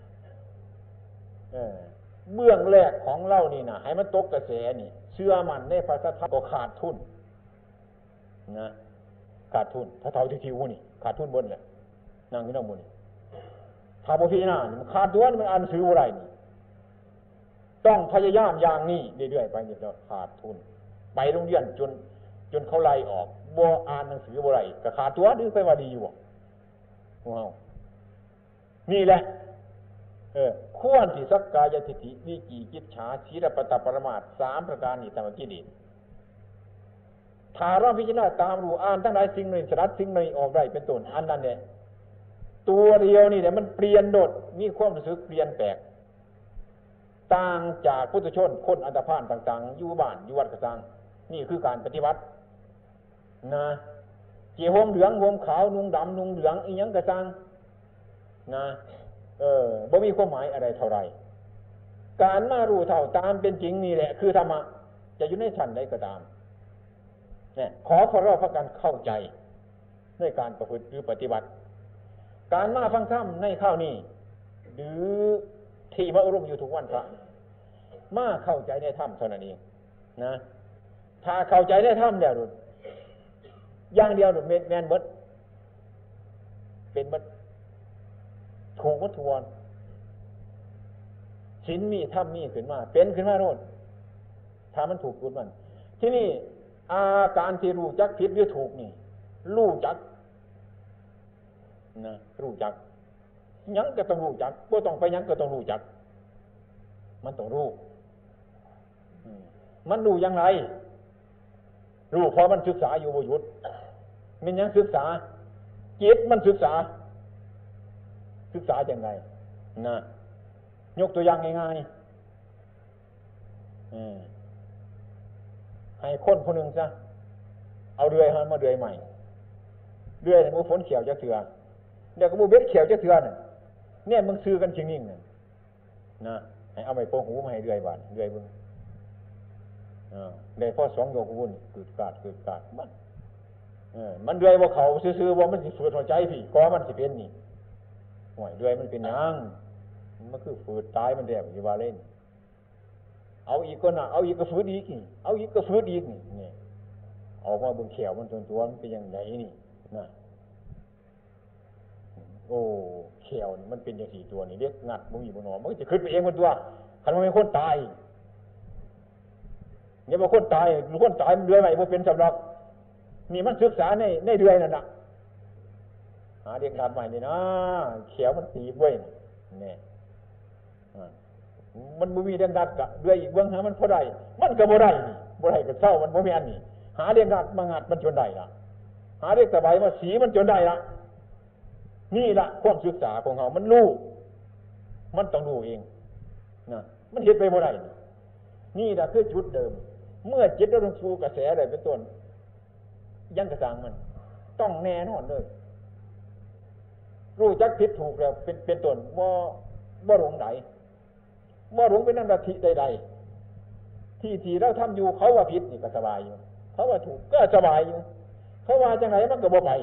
เบื้องแรกของเรานี่นะให้มันตกกระแสนี่เชื่อมันในพระสัทธรรมก็ขาดทุนนะขาดทุนถ้าเท่าที่ทิวนี่ขาดทุนบนแหละนั่งอยู่นั่งบนนี่ถ้าบ่พิจารณามันขาดตัวมันอ่านหนังสือบ่ได้นี่ต้องพยายามอย่างนี้เรื่อยๆไปนี่แล้วขาดทุนไปโรงเรียนจนเขาไล่ออกบ่อ่านหนังสือบ่ได้ก็ขาดตัวดื้อไปว่าดีอยู่ว้าวนี่แหละควรที่สักกายทิฏฐิวิจิกิจฉาศีลปตปรมาส3ประการนี้ตามกิเลสถ้าเราพิจารณาตามรู้อ่านทั้งหลายสิ่งหนึ่งสลัดสิ่งหนึ่งออกได้เป็นต้นอันนั้นเนี่ยตัวเดียวนี่เนี่ยมันเปลี่ยนโดดมีความรู้สึกเปลี่ยนแปลกต่างจากพุทธชนคนอันธพาลต่างๆอยู่บ้านอยู่วัดกระซังนี่คือการปฏิบัตินะเกี่ยวห่มเหลืองห่มขาวนุ่งดำนุ่งเหลืองอีหยังกระซังนะบ่มีความหมายอะไรเท่าไรการมารู้เท่าตามเป็นจริงนี่แหละคือธรรมะจะอยู่ในชั้นใดก็ตามเนี่ยขอเราพากันเข้าใจในการประพฤติหรือปฏิบัติการมาฟังธรรมในข้าวนี้หรือที่มาอบรมอยู่ทุกวันพระมาเข้าใจในธรรมเท่านั้นเองนะถ้าเข้าใจในธรรมแล้วอย่างเดียวแม่นหมดเป็นหมดถูกหมดทวนศีลมีธรรมมีขึ้นมาเป็นขึ้นมาโน่นถ้ามันถูกจุดมันที่นี่อาการที่รู้จักผิดหรือถูกนี่รู้จักนะรู้จักยังก็ต้องรู้จักบ่ต้องไปยังก็ต้องรู้จักมันต้องรู้มันรู้อย่างไรรู้เพราะมันศึกษาอยู่บ่หยุดมันยังศึกษาจิตมันศึกษาอย่างไรนะยกตัวอย่างง่ายๆให้คนคนหนึ่งซะเอาเดือยมาเดือยใหม่เดือยมันฝนเขียวจะเถื่อเดี๋ยวก็บูเบ็ดเขียวจะเถื่อเนี่ยมึงซื้อกันชิงนิ่งนะให้เอาไม้โปงหูมาให้เดือยบานเดือยมึงได้พอ2 โยกวุ่นกึดกาดมันเดือยว่าเขาซื้อว่ามันสิฝืดหัวใจพี่ก็มันสิเป็นนี่ห่วยเดือยมันเป็นยังมันคือฝืดตายมันแดงอยู่ว่าเล่นเอาอีกก็น่ะเอาอีกก็ฝืดอีกนี่เอาอีกก็ฝืดอีกนี่ออกมาบนเขียวมันตัวมันเป็นอย่างไรนี่นะโอ้เขียวมันเป็นอย่าง4 ตัวนี่เรียกงัดมึงอยู่บนหนอมันจะขึ้นไปเองมันตัวคันมันเป็นคนตายเนี่ยว่าคนตายมันเดือยใหม่มันเป็นสำหรับนี่มันศึกษาในเดือยนั่นน่ะหาเด็กดัดใหม่นี่นะเขียวมันตีบ้วยเนี่ยมันบ่มีเด็กดัดกะเดือยอีกเบื้องหามันพอได้มันก็บ่ได้นี่บ่ได้ก็เศร้ามันบ่แม่นนี่หาเด็กดัดมางัดมันจนได้ล่ะหาเด็กตะไบมาสีมันจนได้ล่ะนี่ล่ะความศึกษาของเขามันรู้มันต้องรู้เองนะมันเฮ็ดไปบ่ได้นี่ล่ะคือจุดเดิมเมื่อจิตเราลงสู่กระแสได้เป็นต้นยังกระสังมันต้องแน่นอนเลยรู้จักผิดถูกแล้วเป็นต้นบ่หลงไหลบ่หลงเป็นนันทธิใดๆที่เราทำอยู่เขาว่าผิดนี่ก็สบายอยู่เขาว่าถูกก็สบายอยู่เขาว่าจังไหนมันก็บ่ไป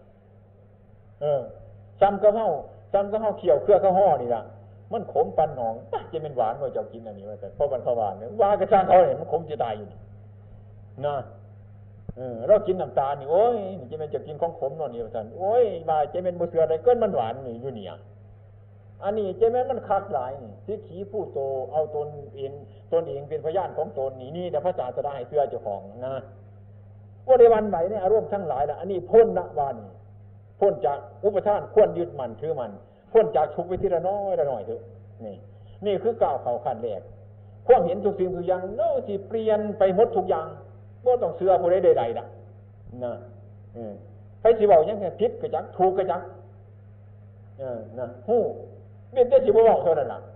ซ้ำกับเฮาเขี่ยวเครือข้าวห่อนี่ล่ะมันขมปันหนองจะเป็นหวานว่าเจ้ากินอันนี้ว่าแต่เพราะมันเขาหวานเนี่ยว่ากระช่างเขาเนี่ยมันขมจะตายอยู่นะเรากินน้ำตาลนี่โอ้ยนี่จะเป็นจะกินของขมนอนนี่ว่าซั่นโอ้ยว่าจะเป็นบ่เสืออะไรเกินมันหวานนี่อยู่เนี่ยอันนี้จะแม่นมันคักหลายนี่สิขี้ผู้โตเอาตนเองเป็นพยานของตนนี่แต่พระศาสดาให้เสือเจ้าของนะว่าในวันไหนเนี่ยอารมณ์ทั้งหลายล่ะอันนี้พ้นละวันพ้นจากอุปทานควรยึดมั่นถือมันพ้นจากทุกข์ไปทีละน้อยละหน่อยเถอะนี่คือก้าวเข้าขั้นแรกความเห็นทุกสิ่งทุกอย่างโน้สิเปลี่ยนไปหมดทุกอย่างบ่ต้องเชื่อผู้ใดใดๆนะใครสิเว้ายังไงผิดก็จักถูกก็จักนะฮู้เป็นแต่สิบ่เว้าเท่านั้นล่ะ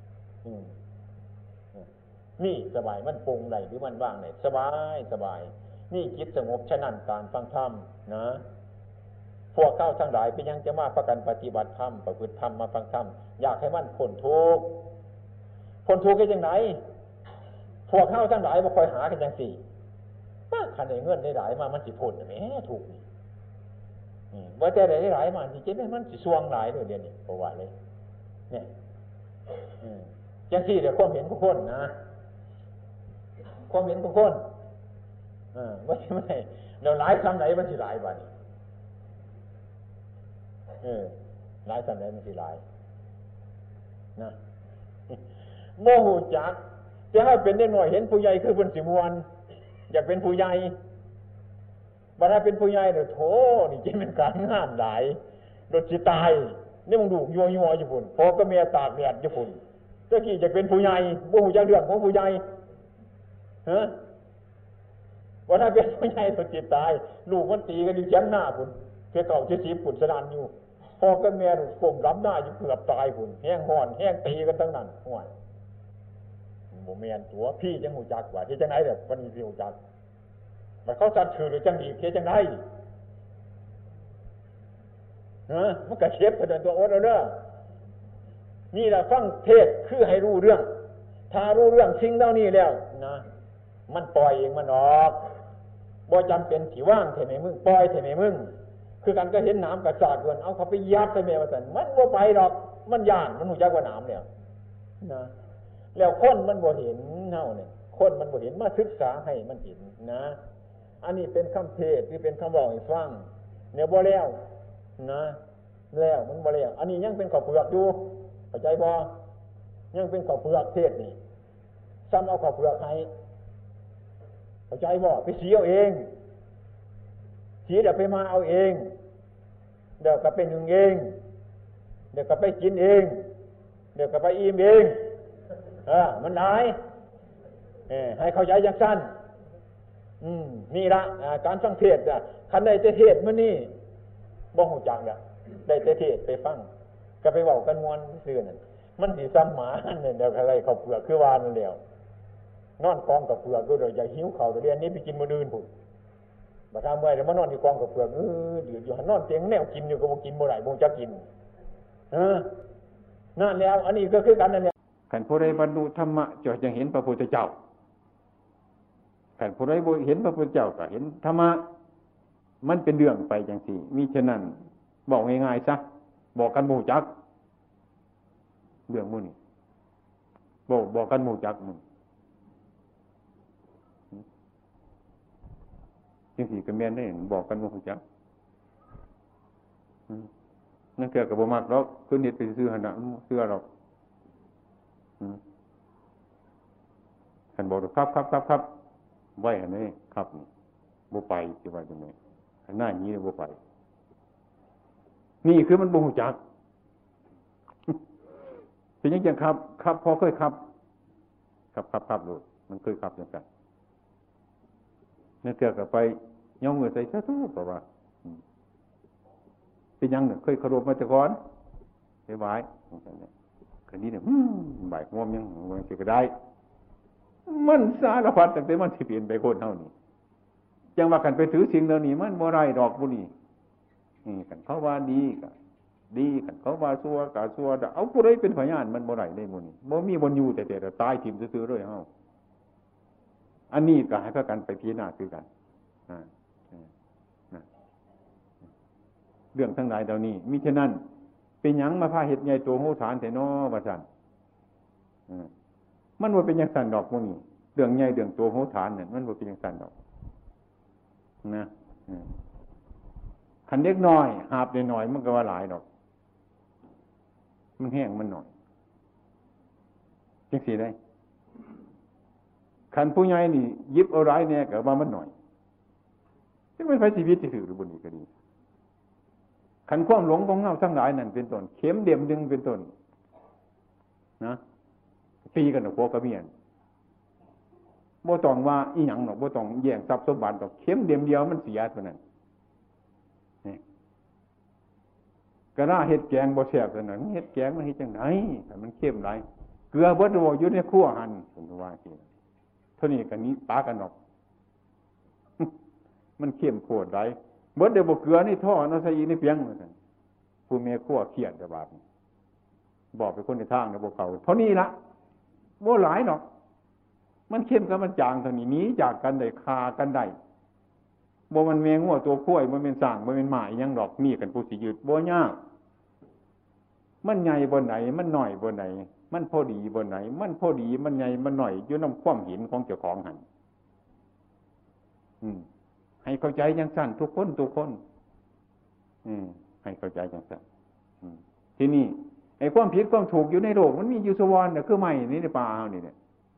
นี่สบายมันปรุงได้หรือมันว่างได้สบายนี่จิตสงบฉะนั้นการฟังธรรมนะพวกเข้าทั้งหลายเป็นยังจะมาประกันปฏิบัติธรรมประพฤติธรรมมาฟังธรรมอยากให้มันพ้นทุกข์ได้จังไหนพวกเข้าทั้งหลายบ่ค่อยหากันจังซี่คันได้เงินได้หลายมามันสิพ้นแหมถูกนี่ว่าแต่ได้หลายมาสิเจ็บมันสิสวงหลายเดี๋ยวนี้บ่ว่าเลยเนี่ยจังซี่เดี๋ยวความเห็นของคนนะความเห็นของคนว่าสิไม่เดี๋ยวหลายคำไหนมันสิหลายบัดนี้หลายคำไหนมันสิหลายนะโมโหจักจะให้เป็นเด็กหน่อยเห็นผู้ใหญ่คือเพิ่นสิม่วนอยากเป็นผู้ใหญ่บัดถ้าเป็นผู้ใหญ่เนี่ยโธ่นี่จะเป็นการงานหลายรถสิตายนี่มึงดูยัวอยู่พุ่นพอก็เมียตากแดดอยู่พุ่นตะกี้จะเป็นผู้ใหญ่บ่ฮู้จักเรื่องของผู้ใหญ่บัดถ้าเป็นผู้ใหญ่รถสิตายลูกมันตีกันอยู่แคมป์หน้าพุ่นเจ้า70พุ่นสนานอยู่พอก็เมียก้มรับหน้าอยู่เกือบตายพุ่นแห้งฮ้อนแห้งตีกันทั้งนั้นห่วยบ่แม่นตัวพี่จังฮู้จักว่าที่จังได๋เด้อเพิ่นสิฮู้จักมันเขาจัดชื่อหรือจังดีเฮ็ดจังได๋มันก็เชฟเพิ่นตัวอดเอาเด้อนี่แหละฟังเทศคือให้รู้เรื่องถ้ารู้เรื่องสิ่งเหล่านี้แล้วนะมันปล่อยเองมันออกบ่จำเป็นที่ว่างเท่าไหร่มึงปล่อยเท่าไหร่มึงคือกันก็เห็นน้ำกระสาดเกินเอาเขาไปยัดใส่แม่ว่าซั่นมันบ่ไปดอกมันย่านมันรู้จักว่าน้ำแล้วนะแล้วคนมันบ่เห็นเฮาเนี่ยคนมันบ่เห็นมาศึกษาให้มันเห็นนะอันนี้เป็นคำเทศที่เป็นคำบอกให้ฟังเนี่ยบ่แล้วนะแล้วมันบ่แล้วอันนี้ยังเป็นข้าวเปลือกอยู่เข้าใจบ่ยังเป็นข้าวเปลือกเทศนี่ซ้ำเอาข้าวเปลือกให้เข้าใจบ่ไปสีเอาเองสีเดี๋ยวไปมาเอาเองเดี๋ยวก็เป็นหนึ่งเองเดี๋ยวก็ไปกินเองเดี๋ยวก็ไปอิ่มเองมันได้ให้เข้าใจอย่างสั้นนี่ละการฟังเทศน์คันได้เทศน์มื้อนี้บ่ฮู้จักละได้เทศน์ไปฟังก็ไปเว้ากันม่วนซื่อนั่นมันสิซ้ำหมาเนี่ยเดี๋ยวอะไรข้าวเปลือกคือว่านั่นแล้วนอนกองกับเปลือกก็เดี๋ยวอย่าหิวข้าวเดี๋ยวนี้ไปกินมื้ออื่นพุ่นบ่ทำเมื่อยเดี๋ยวมานอนที่กองกับเปลือกเดี๋ยวอยู่หันนอนเตียงแนวกินอยู่ก็บ่กินบ่ได้บ่จักกินนั่นแล้วอันนี้ก็คือกันนั่นแหละคันผู้ใดบรรลุธรรมะจะยังเห็นพระพุทธเจ้าคันผู้ใดบ่เห็นพระพุทธเจ้าก็เห็นธรรมะมันเป็นเรื่องไปจังซี่มิฉะนั้นบอกง่ายๆซะบอกกันบ่รู้จักเรื่องมื้อนี้บอกกันบ่รู้จักมึงจังซี่ก็แม่นได้บอกกันบ่รู้จักนั่นเกี่ยวกับบ่มักหรอกคือเฮ็ดไปซื่อๆหั่นน่ะเชื่อหรอกคันบอกครับไว้อันนี้ครับบ่ไปสิว่าจังได๋อันหน้านี้บ่ไปนี่คือมันบ่รู้จักเป็นจังครับพอเคยครับรู้มันเคยครับจังซั่นนั่นเกี่ยวกับไปย่อมมือใส่ซะทุกเพราะว่าเป็นยังเนี่ยเคยเคารพมาแต่ก่อนไปไหว้คันนี้เนี่ยบ่ายงวมยังมันสิก็ได้มันสารพัดตั้งแต่มันสิเปลี่ยนไปคนเฮานี่จังว่ากันไปถือสิ่งเหล่านี้มันบ่ได้ดอกบุนี่กันเขาว่าดีก็ดีกันเขาว่าชั่วก็ชั่วเอาผู้ใดเป็นพยานมันบ่ได้ได้บุนี่บ่มีบ่อยู่แต่ตายทิ่มซื่อๆเลยเฮาอันนี้ก็ให้พากันไปพิจารณาคือกันเรื่องทั้งหลายเหล่านี้มิฉะนั้นเป็นหยังมาพาเฮ็ดใหญ่โตโหฐานแท้น้อว่าซั่นมันบ่เป็นจังซั่นดอกมื้อนี้เรื่องใหญ่เรื่องโตโหฐานนั่นมันบ่เป็นจังซั่นดอกนะคันเล็กน้อยหาบน้อยมันก็ว่าหลายดอกมันแห้งมันน้อยจังซี่ได้คันผู้ใหญ่นี่หยิบเอาหลายแน่ก็ว่ามันน้อยจังมันไผชีวิตสิถือหรือบ่นี่ก็ดีขันความหลงของเงาทั้งหลายนั่นเป็นต้นเข็มเดี่ยมดึงเป็นต้นนะตีกันกับพวกกระเมียนบ่ต้องว่าอีหยังหรอกบ่ต้องแย่งทรัพย์สมบัติหรอกเข็มเดี่ยมเดียวมันเสียเท่านั้นนี่กระด้าเฮ็ดแกงบ่แซ่บเท่านั้นเฮ็ดแกงมันเฮ็ดจังได๋ถ้ามันเข้มหลายเกลือเบิดบ่อยู่ในครัวหั่นเพิ่นว่าสิเท่านี้ก็นี้ปากันออกมันเข้มโคตรหลายเบิดเดี๋ยวบ่เกลือนี่ท่อเนาะใส่อีกในเปียงเหมือนกันผู้แม่ครัวเครียดแต่บาดบอกไปคนในทางเนี่ยบ่เข้าเท่านี้ละบ่หลายดอกมันเข้มกับมันจางเท่านี้หนีจากกันได้คากันได้บ่มันแมงงัวตัวข้วยบ่แม่นสร้างบ่แม่นหมาอีหยังดอกมีกันผู้สิยืดบ่ยากมันใหญ่บ่ไหนมันน้อยบ่ไหนมันพอดีบ่ไหนมันพอดีมันใหญ่มันน้อยอยู่นำความเห็นของเจ้าของหั่นให้เข้าใจอย่างสั้นทุกคนให้เข้าใจอย่างสั้นที่นี่ไอ้ความผิดความถูกอยู่ในโลกมันมีอยู่สวรรค์เนี่ยคือไม้นี่ในป่าเฮานี่เนี่ย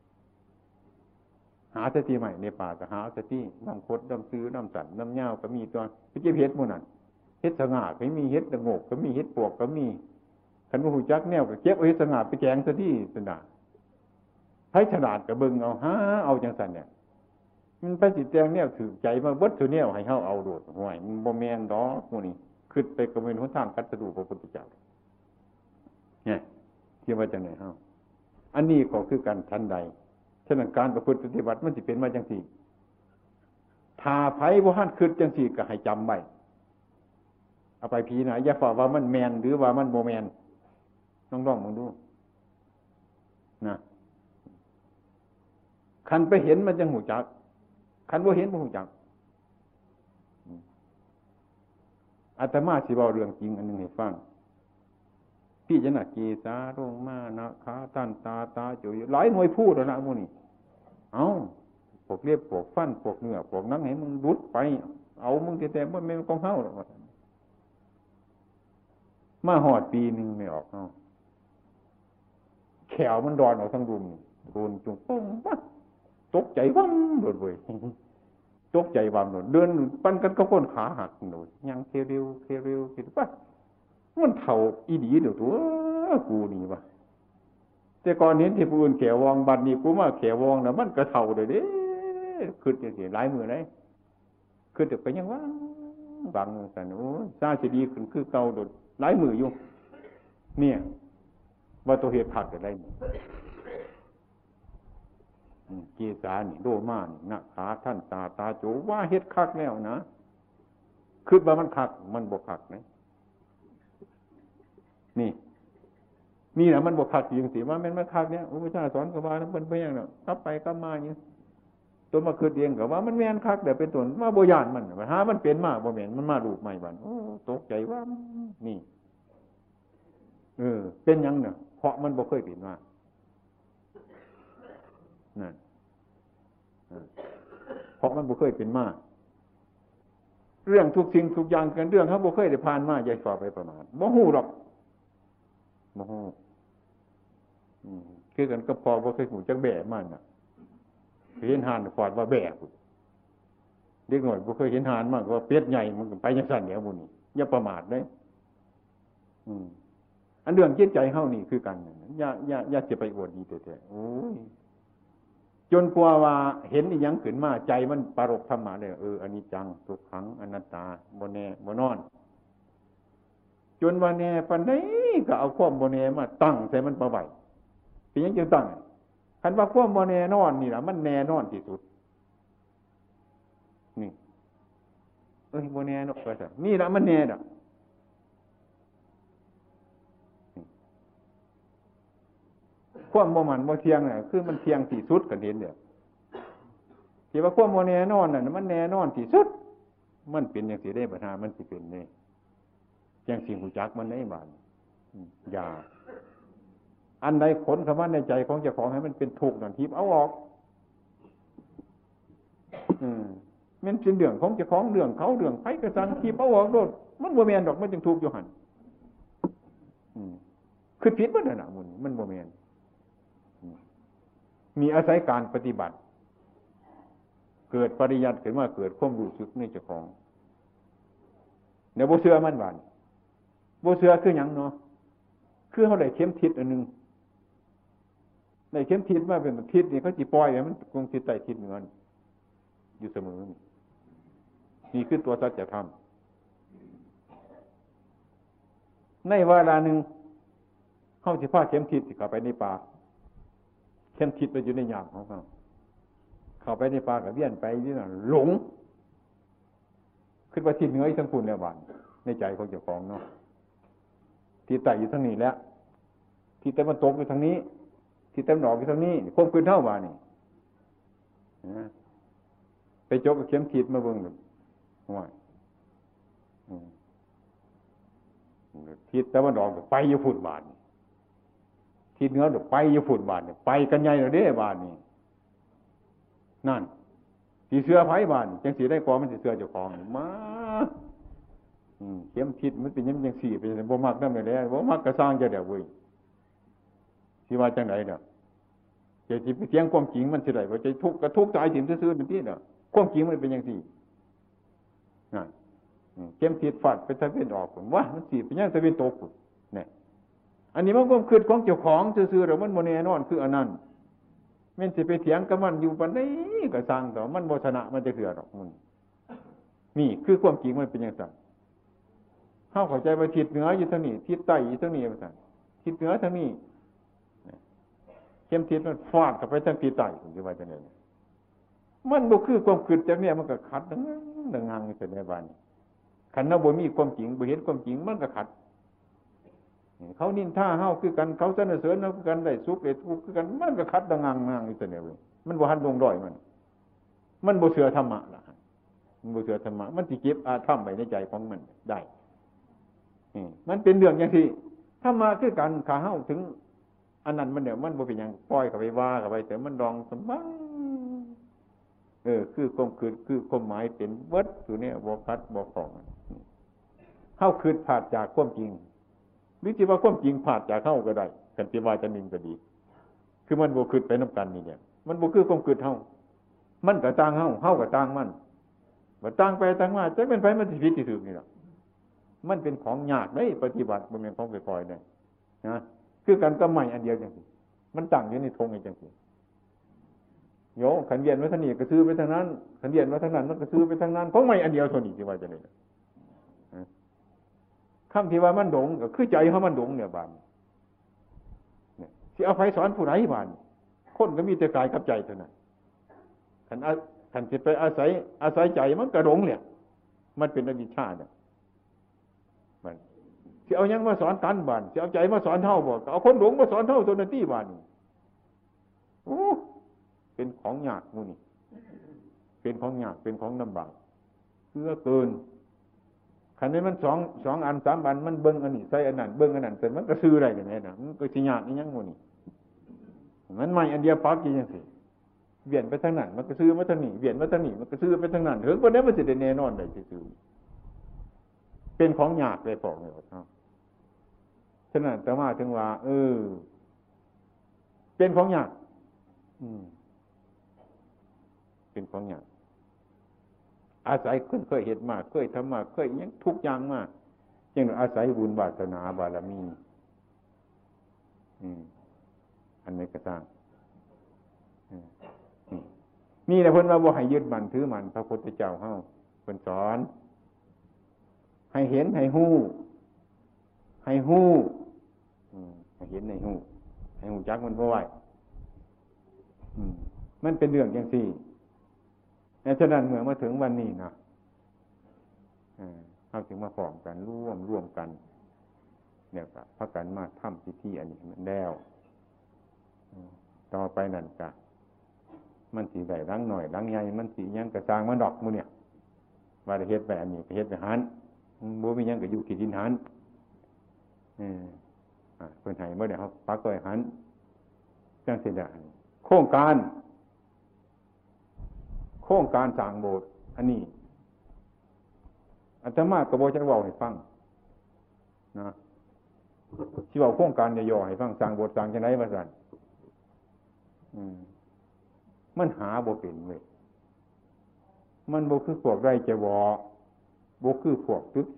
หาสติใหม่ในป่าก็หาสติน้ำคดน้ำซื้อน้ำสั่นน้ำเหย้าก็มีตัวไปเก็บเห็ดหมู่นั่นเห็ดสง่าก็มีเห็ดตะโงกก็มีเห็ดปวกก็มีคันบ่ฮู้จักแนวก็เก็บเอาเห็ดสง่าไปแกงซะที่ซั่นน่ะให้ฉลาดก็เบิ่งเอาหาเอาจังซั่นเนี่ยมันไปสิแจงแนวถือใจมาเบิดซุแนวให้เฮาเอาโดดห่วยมันบ่แม่นดอกหมู่นี้คิดไปก็เป็นหนทางกัดสะดุพระพุทธเจ้าเนี่ยที่ว่าจังได๋เฮาอันนี้ก็คือการทันใดฉะนั้นการประพฤติปฏิบัติมันสิเป็นมาจังซี่ถ้าไผบ่ทันคิดจังซี่ก็ให้จำไว้เอาไปพิจารณาอย่าฝ่าว่ามันแม่นหรือว่ามันบ่แม่นลองๆมึงดูนะคันไปเห็นมันจังหูจักคันบ่เห็นบ่หูจักอาตมาสิเว้าเรื่องจริงอันนึงให้ฟังพี่จะน่ะเกสาโรงมานะขาตันตาตาจุยหลายหน่วยพูดแล้วนะพวกนี้เอ้าพวกเรียบพวกฟันพวกเนื้อพวกหนังให้มึงรุดไปเอามึงแต่บ่แม่นของเฮาหรอกมาหอดปีนึงไม่ออกเฮาแขวมันดอนออกทั้งรุมโดนจุงปุ้งปั๊บตกใจวั่มโดดเว้ยตกใจวั่มโดดเดินปั้นกันก็ก้นขาหักโดดยังเร็วคิดว่ามันเท่าอีดีเดี๋ยวตัวกูนี่วะแต่ก่อนเห็นที่ผู้อื่นแขววองบัดนี้กูมาแขววองน่ะมันก็เท่าเด้อขึ้นจังซี่หลายมื้อเลยขึ้นแต่ไปยังว่าบางซั่นโอ้ซาสิดีขึ้นคือเก่าโดดหลายมื้ออยู่เนี่ยว่าตัวเหตุขัดอะไรเกสานี่โดมานี่นะขาท่านตาโจว่าเฮ็ดคักแล้วนะคิดว่ามันคักมันบ่คักนะนี่แหละมันบ่คักจริงสิว่ามันคักเนี่ยอุปชาสอนก็ว่ามันเป็นไปอย่างนั้นกลับไปกลับมาอย่างนี้ตัวมาคิดเองก็ว่ามันแม่นคักเดี๋ยวเป็นต้นว่าบ่ย่านมันหามันเป็นมาบ่แม่นมันมารูปใหม่บัดโอ้ตกใจว่านี่เป็นหยังเนี่ยเพราะมันบ่เคยเป็นมานั่นเพราะมันบ่เคยเป็นมาเรื่องทุกสิ่งทุกอย่างกันเรื่องเขาบ่เคยได้ผ่านมาอย่าฝ่าไปประมาทบ่ฮู้หรอกบ่ฮู้คือกันก็พอบ่เคยหูจักแบะมันน่ะเห็นห่านฟอดว่าแบะเด็กน้อยบ่เคยเห็นห่านมากว่าเป็ดใหญ่มันก็ไปจังซั่นแหล้วหมู่นี้อย่าประมาทเด้อันเรื่องจิตใจเฮานี่คือกันอย่าสิไปอวดดีแท้ๆโอ้ยจนกว่าว่าเห็นอีหยังขึ้นมาใจมันปรารภธรรมะเลยอนิจจังทุกขังอนัตตาบ่แน่บ่นอนจนว่าแน่ปานใดก็เอาความบ่แน่มาตั้งใส่มันบ่ไหวเป็นหยังจึงตั้งคันว่าความบ่แน่นอนนี่ล่ะมันแน่นอนที่สุดนี่บ่แน่เนาะว่าซั่นนี่ล่ะมันแน่ดอกความบ่มันบ่เที่ยงน่ะคือมันเที่ยงที่สุดก็เห็นเด้อที่ว่าความบ่แน่นอนน่ะมันแน่นอนที่สุดมันเป็นจังซี่ได้ปัญหามันสิเป็นนี่จังสิฮู้จักมันได้บาดอย่าอันใดขนเข้ามาในใจของเจ้าของให้มันเป็นทุกข์นั่นทิพย์เอาออกมันเป็นเรื่องของเจ้าของเรื่องเขาเรื่องไผก็สั่งทิพย์เอาออกโดดมันบ่แม่นดอกมันจึงทุกข์อยู่หั่นคือผิดบ่นั่นน่ะมันบ่แม่นมีอาศัยการปฏิบัติเกิดปริยัติขึ้นมาเกิดความรู้สึกในเจ้าของเดี๋ยวบ่เชื่อมันว่าบ่เชื่อคือหยังเนาะคือเฮาได้เข็มทิศอันนึงได้เข็มทิศมาเป็นทิศนี่เขาสิปล่อยให้มันคงสิใต้ทิศเหนืออยู่เสมอนี่คือตัวสัจธรรมในเวลานึงเฮาสิพาเข็มทิศสิเข้าไปในป่าเข็มทิศมันอยู่ในยามของเขาเข้าไปในป่ากับเวียนไปนี่น่ะหลงคิดว่าทิศเหนืออีกทั้งพุ่นแล้วบาดในใจของเจ้าของเนาะทิศใต้อยู่ทางนี้แล้วทิศตะวันตกอยู่ทางนี้ทิศตะวันออกอยู่ทางนี้ควบคุมเท่าบาดนี่ไปจกกับเข็มทิศมาเบิ่งว่าทิศตะวันออกไปอยู่พุ่นบาดทิศเหนือไปอยู่พุ่นบาดนี่ไปกันใหญ่แล้วเด้บาดนี่นั่นสิเสื้อไผบาดจังสิได้กว่ามันสิเสื้อเจ้าของมาเข็มทิศมันเป็นยังจังซี่เป็นบ่มักนำได้บ่มักก็สร้างจะได้เว้ยสิว่าจังได๋เด้อจะสิไปเถียงความจริงมันสิได้บ่ใจทุกข์ก็ทุกข์ตายถิ่มซื่อๆนั่นติเด้อความจริงมันเป็นจังซี่นั่นเข็มทิศฟาดไปตะเวนออกพุ่นว่ามันสิเป็นยังตะเวนตกพุ่นนี่อันนี้มันความคิดของเจ้าของซื่อๆแล้วมันบ่แน่นอนคืออันนั้นแม่นสิไปเถียงกับมันอยู่ปานใดก็สร้างต่อมันบ่ชนะมันจะเถื่อดอกมันนี่คือความจริงมันเป็นจังซั่นเฮาเข้าใจว่าทิศเหนืออยู่ทางนี้ทิศใต้อยู่ทางนี้ว่าซั่นทิศเหนือทางนี้เข็มทิศมันฟาดเข้าไปทางทิศใต้ผมสิว่าจังได๋มันบ่คือความคิดจักเนี่ยมันก็ขัดดังงังอยู่ในบ้านคันเราบ่มีความจริงบ่เห็นความจริงมันก็ขัดเขานินท่าเฮาคือกันเขาสรรเสริญเฮาคือกันได้สุขได้ทุกข์คือกันมันก็คัดดังงังงังอยู่แต่เนี่ยเว้ยมันบ่หันลงด้อยมันบ่เชื่อธรรมะล่ะมันบ่เชื่อธรรมะมันสิเก็บอาธรรมไว้ในใจของมันได้มันเป็นเรื่องอย่างที่ธรรมะคือกันข้าเฮาถึงอันนั้นมันเนี่ยมันบ่เป็นหยังปล่อยเข้าไปว่าเข้าไปแต่มันรองสมบังคือความคือความหมายเป็นวัดอยู่เนี่ยบ่คัดบ่ของเฮาคิดผาดจากความจริงหรือสิว่าความจริงผาดจากเฮาก็ได้กันสิว่าจะนิ่งก็ดีคือมันบ่คิดไปนำกันนี่เนี่ยมันบ่คือความคิดเฮามันก็ต่างเฮาก็ต่างมันบ่ต่างไปต่างมาจักเป็นไผมันสิผิดสิถูกนี่ล่ะมันเป็นของยากเด้ปฏิบัติบ่แม่นของค่อยๆได้นะคือกันก็ใหม่อันเดียวจังซี่มันตั้งอยู่ในธงจังซี่โยขันเวียนไว้ทางนี้ก็ซื้อไปทางนั้นขันเวียนไว้ทางนั้นมันก็ซื้อไปทางนั้นของใหม่อันเดียวเท่านี้สิว่าจังได๋คำที่ว่ามันหลงก็คือใจเฮามันหลงเนี่ยบาดเนี่ยสิเอาไผสอนผู้ใดบาดคนก็มีแต่กายกับใจเท่านั้นคันสิไปอาศัยใจมันก็หลงเนี่ยมันเป็นอวิชชาเนี่ยมันสิเอาหยังมาสอนกันบาดสิเอาใจมาสอนเฮาบ่ก็เอาคนหลงมาสอนเฮาตัวนั้นติบาดโอ้เป็นของยากหมู่นี่เป็นของยากเป็นของลำบากเพื่อเกินคันนี้มัน2อัน3อันมันเบิ่งอันนี้ใส่อันนั้นเบิ่งอันนั้นแต่มันก็ซื้อได้จังได๋น่ะมันก็สิยากอีหยังหมู่นี่มันใหม่อันเดียวปักอยู่จังซี่เวียนไปทางนั้นมันก็ซื้อมาทางนี้เวียนมาทางนี้มันก็ซื้อไปทางนั้นถึงบ่ได้มันสิได้แน่นอนได้ซื่อๆเป็นของยากเลยพวกนี้ครับฉะนั้นแต่ว่าถึงว่าเป็นของยากเป็นของยากอาศัยเคยเห็นมาเคยทำมาเคยยังทุกอย่างมาจึงอาศัยบุญวาสนาบารมีอันนี้ก็สร้างนี่แหละเพิ่นว่าบ่ให้ยึดมั่นถือมั่นพระพุทธเจ้าเฮาเพิ่นสอนให้เห็นให้ฮู้ให้เห็นให้ฮู้จักมันบ่ไหวมันเป็นเรื่องจังซี่ฉะนั้นเมื่อมาถึงวันนี้นะเราถึงมาพร้อมกันร่วมกันเนี่ยก็พากันมาทำพิธีอันนี้มันแล้วต่อไปนั่นก็มันสิได้รังหน่อยรังใหญ่มันสิยังกระสร้างมันดอกมื้อเนี่ยว่าได้เฮ็ดไปอันนี้ก็เฮ็ดไปหันบ่มีหยังก็อยู่ที่ดินหันเพิ่นให้บ่ได้เฮาปักไว้หันจังซี่ได้โครงการสร้างโบสถ์อันนี้อาตมาก็บ่จักเว้าให้ฟังนะสิเว้าโครงการย่อๆให้ฟังสร้างโบสถ์สร้างจังได๋ว่าซั่นมันหาบ่เป็นเว้ยมันบ่คือพวกไร่จะวอบ่คือพวกตึกแห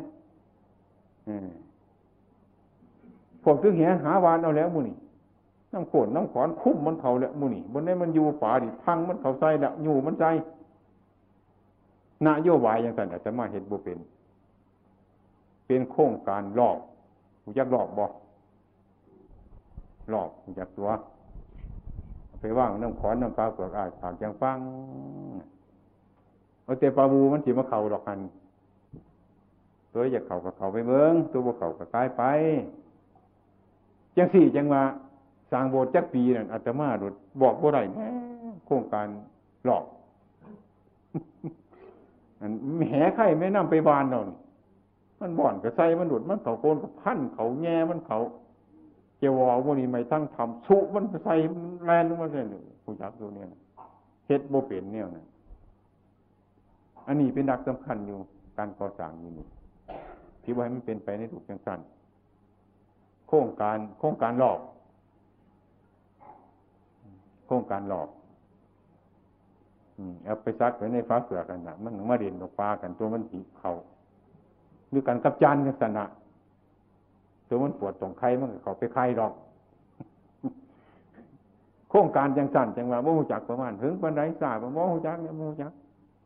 พวกตึกแหหาวานเอาแล้วหมู่นี่น้ำโขนน้ำขอนคุ้มมันเขาแล้วหมู่นี่บนนี้มันอยู่ป่าดิพังมันเขาใส่แล้วอยู่มันใส่นโยบายอย่างนั้นอาจจะมาเห็นบ่เป็นโครงการรอบรู้จักรอบบ่รอบรู้จักตัวไปว่างน้ำขอนน้ำปลาเปลือกปากจังฟังเอาแต่ปลาบูมันสิมาเข้าดอกกันตัวอยากเข้าก็เข้าไปเบิ่งตัวบ่เข้าก็ตายไปจังซี่จังว่าสร้างโบสถ์จักปีนั่นอาตมาโดดบอกบ่ได้แหมโครงการหลอกอันแหไข่แม่น้ำไปบานเนาะมันบ่อนก็ใส่มันโดดมันเขาโกนก็พันเขาแง่มันเขาเจวอบ่นี่ไม่ทั้งทำสุมันใส่แลนลงมาซั่นผู้จักตัวเนี่ยเฮ็ดบ่เป็นแนวนั้นอันนี้เป็นหลักสำคัญอยู่การก่อสร้างอยู่นี่ที่ว่าให้มันเป็นไปในทุกจังซั่นโครงการหลอกเอาไปซักไว้ในฟ้าเปลือกกันน่ะมันมาเด่นออกปลากันตัวมันสีเขาหรือกันกับจานกันสนะตัวมันปวดตรงไข่มันก็เข้าไปไข่ดอกโครงการจังสั่นจังว่าบ่ฮู้จักประมาณถึงปานใดทราบบ่ฮู้จักเนี่ยบ่ฮู้จัก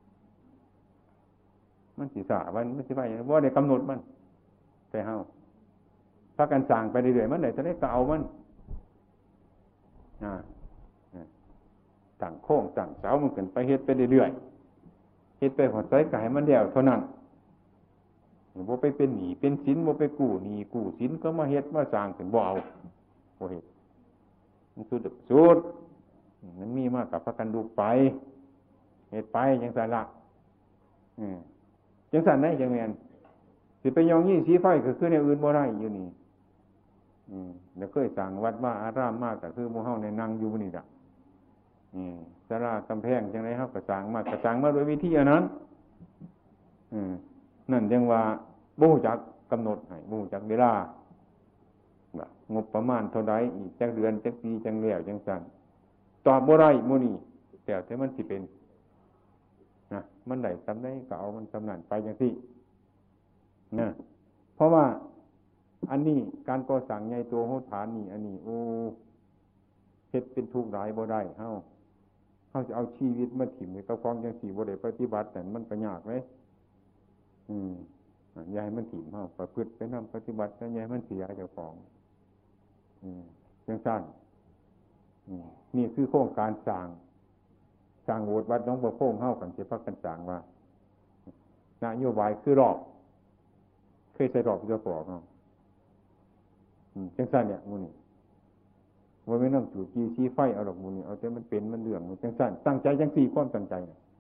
มันสิทราบว่ามันสิไปบ่ได้กำหนดมันแต่เฮาพากันสร้างไปเรื่อยๆมันได้จะได้ก็เอามันตั้งโค้งตั้งเสามันขึ้นไปเฮ็ดไปเรื่อยๆเฮ็ดไปหอดไสก็ให้มันแล้วเท่านั้นบ่ไปเป็นหนี้เป็นสินบ่ไปกู้หนี้กู้สินก็มาเฮ็ดมาสร้างขึ้นบ่เอาบ่เฮ็ดมันสุดมันมีมากกับพากันดูไปเฮ็ดไปจังซั่นล่ะจังซั่นได้จังแม่นสิไปยองยี่สีไฟก็คือแนวอื่นบ่ได้อยู่นี่แล้วเคยสร้างวัดว่าอารามมากก็คือหมู่เฮาในนั่งอยู่นี่ล่ะศาลากำแพงจังได๋เฮาก็สร้างมาด้วยวิธีอันนั้นนั่นจังว่าบ่ฮู้จักกำหนดให้บ่ฮู้จักเวลางบประมาณเท่าใดอีกจักเดือนจักปีจังแล้วจังซั่นตอบบ่ได้มื้อนี้แต่มันสิเป็นนะมันได้ซำใดก็เอามันซำนั้นไปจังซี่นะเพราะว่าอันนี้การก่อสร้างใหญ่โตโหดผานี่อันนี้โอ้เฮ็ดเป็นทุกข์หลายบ่ได้เฮาจะเอาชีวิตมาถิ่มไว้กับของจังซี่บ่ได้ปฏิบัตินั่นมันก็ยากเด้อย่าให้มันถิ่มเฮาประพฤติไปนำปฏิบัติแล้วอย่าให้มันเสียเจ้าของจังซั่นนี่คือโครงการสร้างโบสถ์วัดหนองบัวโป่งเฮากันสิพากันสร้างว่านโยบายคือรอบเคยใส่รอบเจ้าของเฮาจังซั่นเนี่ยหมู่นี่บ่แม่นนำจู่จี้ชี้ไฟเอาดอกหมู่นี่เอาแต่มันเป็นมันเรื่องจังซั่นตั้งใจจังซี่ความตั้งใจ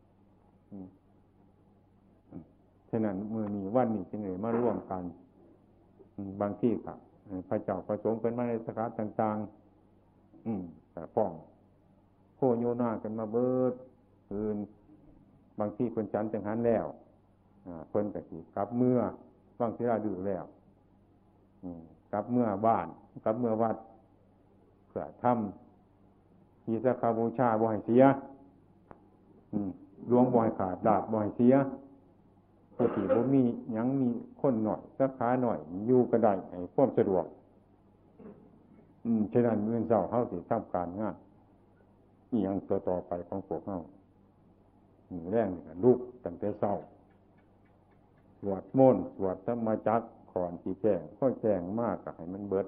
ฉะนั้นมื้อนี้วันนี้จึงได้มาร่วมกันบางที่ก็พระเจ้าประสงค์เป็นมาในสถานต่างๆแต่ป้องโคโยนากันมาเบิดคืนบางที่เพิ่นฉันจังหันแล้วเพิ่นก็สิกลับเมื่อฟังศิลาดื้อแล้วกลับเมื่อบ้านกลับเมื่อวัดเพื่อทำมีสักการบูชาบ่ให้เสียหลวงบ่ให้ขาดดาบบ่ให้เสียปกติบ่มีหยังมีคนหน่อยสักขาหน่อยอยู่ก็ได้ให้ความสะดวกฉะนั้นมื้อเช้าเฮาสิทำการงานอีหยังต่อไปของพวกเฮาแรงนี่ก็ลุกตั้งแต่เช้าสวดมนต์สวดธรรมจักรก่อนสิแจ้งค่อยแจ้งมากก็ให้มันเบิด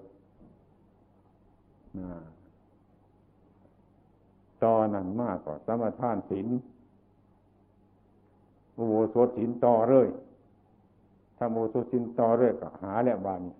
ตอนนั้นมากก็สมาทานศีลอุโบสถศีลต่อเลยถ้าอุโบสถศีลต่อเลยก็หาแล้วบาดนี้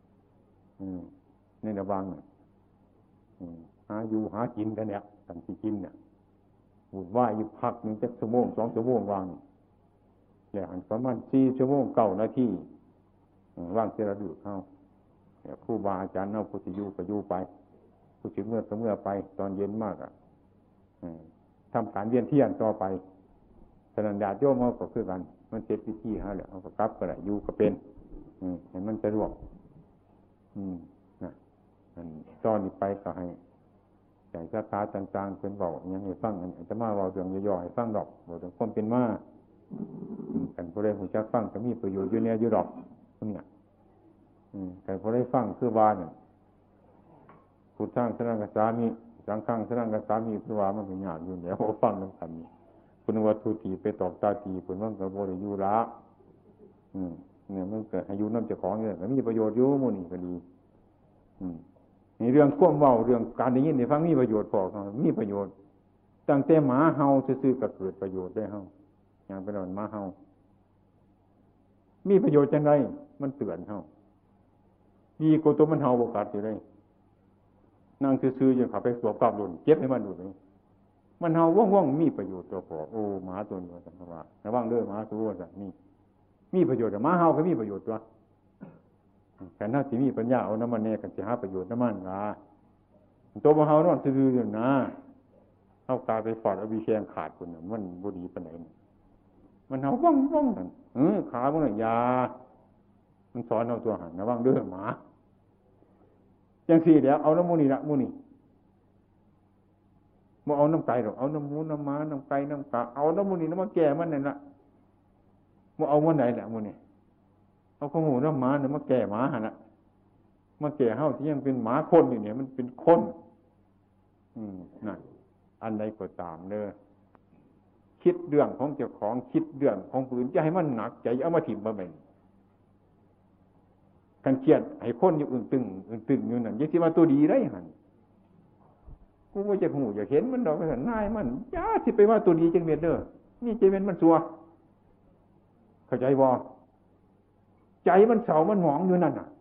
ในระวังหาอยู่หากินกันเนี่ยตั้งสิกินเนี่ยวุ่นวายอยู่พักนึงจักชั่วโมง2ชั่วโมงวางแล้วหันประมาณ4ชั่วโมง9นาทีว่างเสียระดึกเข้าครูบาอาจารย์เอาผู้สิอยู่ก็อยู่ไปผู้สิเมื่อก็เมื่อไปตอนเย็นมากทำการเวียนเทียนต่อไปฉะนั้นญาติโยมเขาก็คือกันมันเสร็จพิธีฮะแล้วเขาก็กลับก็ได้อยู่ก็เป็นเห็นมันสะดวกตอนนี้ไปก็ให้ใจศรัทธาต่างๆเป็นบอกยังให้ฟังจะมาเว้าเรื่องย่อๆให้ฟังดอกเว้าถึงความเป็นมากันผู้ใดผู้จักฟังก็มีประโยชน์อยู่แน่อยู่ดอกเนี่ยแต่ผู้ใดฟังคือว่าเนี่ยพุทธังสรณังคัจฉามิสังฆังสรณังคัจฉามิคือว่ามันก็ยากอยู่แล้วฟังนำกันนี่คุณวัตถุตีไปตอกตาตีคุณมันก็บ่ได้อยู่ละเนี่ยมันเกิดให้อยู่นำเจ้าของเนี่ยก็มีประโยชน์อยู่หมู่นี่ก็ดีนี่เรื่องความเว้าเรื่องการได้ยินได้ฟังมีประโยชน์พอมีประโยชน์ตั้งแต่หมาเห่าซื่อๆก็เกิดประโยชน์ได้เฮาอย่างเป็นหมาเห่ามีประโยชน์จังไดมันเตือนเฮาดีกว่าตัวมันเห่าบ่กัดอยู่เลยนั่งซื่อๆอยู่เข้าไปสวมกลับโดนเจ็บให้มันดูนี่มันเห่าว่องๆมีประโยชน์ตัวพอโอ้หมาตัวนี้ว่าซั่นว่าระวังเด้อหมาตัวว่าซั่นนี่มีประโยชน์แต่หมาเห่าก็มีประโยชน์ตัวแต่ถ้าสิมีปัญญาเอาน้ำมันแน่กันสิหาประโยชน์น้ำมันล่ะตัวบ่เห่านอนซื่อๆอยู่นะเฮากาไปฟอดเอาวิแขงขาดพุ่นน่ะมันบ่ดีปานใดมันเห่าว่องๆนั่นขาบ่น่ะยามันสอนเอาตัวหันระวังเด้อหมาจังซี่แล้วเอาน้ำมูนี่ละมูนี่บ่เอาน้ำไก่หรอกเอาน้ำหมูน้ำม้าน้ำไก่น้ำกาเอาน้ำมูนี่น้ำมาแก่มันนั่นล่ะบ่เอามื้อไหนล่ะมูนี่เอาของหมูน้ำม้าเนี่ยมาแก่หมาหั่นน่ะมาแก่เฮาที่ยังเป็นหมาคนอยู่เนี่ยมันเป็นคนนั่นอันใดก็ตามเด้อคิดเรื่องของเจ้าของคิดเรื่องของผู้อื่นจะให้มันหนักใจเอามาถิ่มบ่แม่นกันเครียดให้คนอยู่อึ้งตึงอยู่นั่นอย่าสิว่าตัวดีได้หั่นกูบ่จักฮู้อยากเห็นมันดอกว่าซั่นนายมันอย่าสิไปว่าตัวดีจังเม็ดเด้อนี่ใจแม่นมันซัวเข้าใจบ่ใจมันเศร้ามันหมองอยู่นั่นน่ะ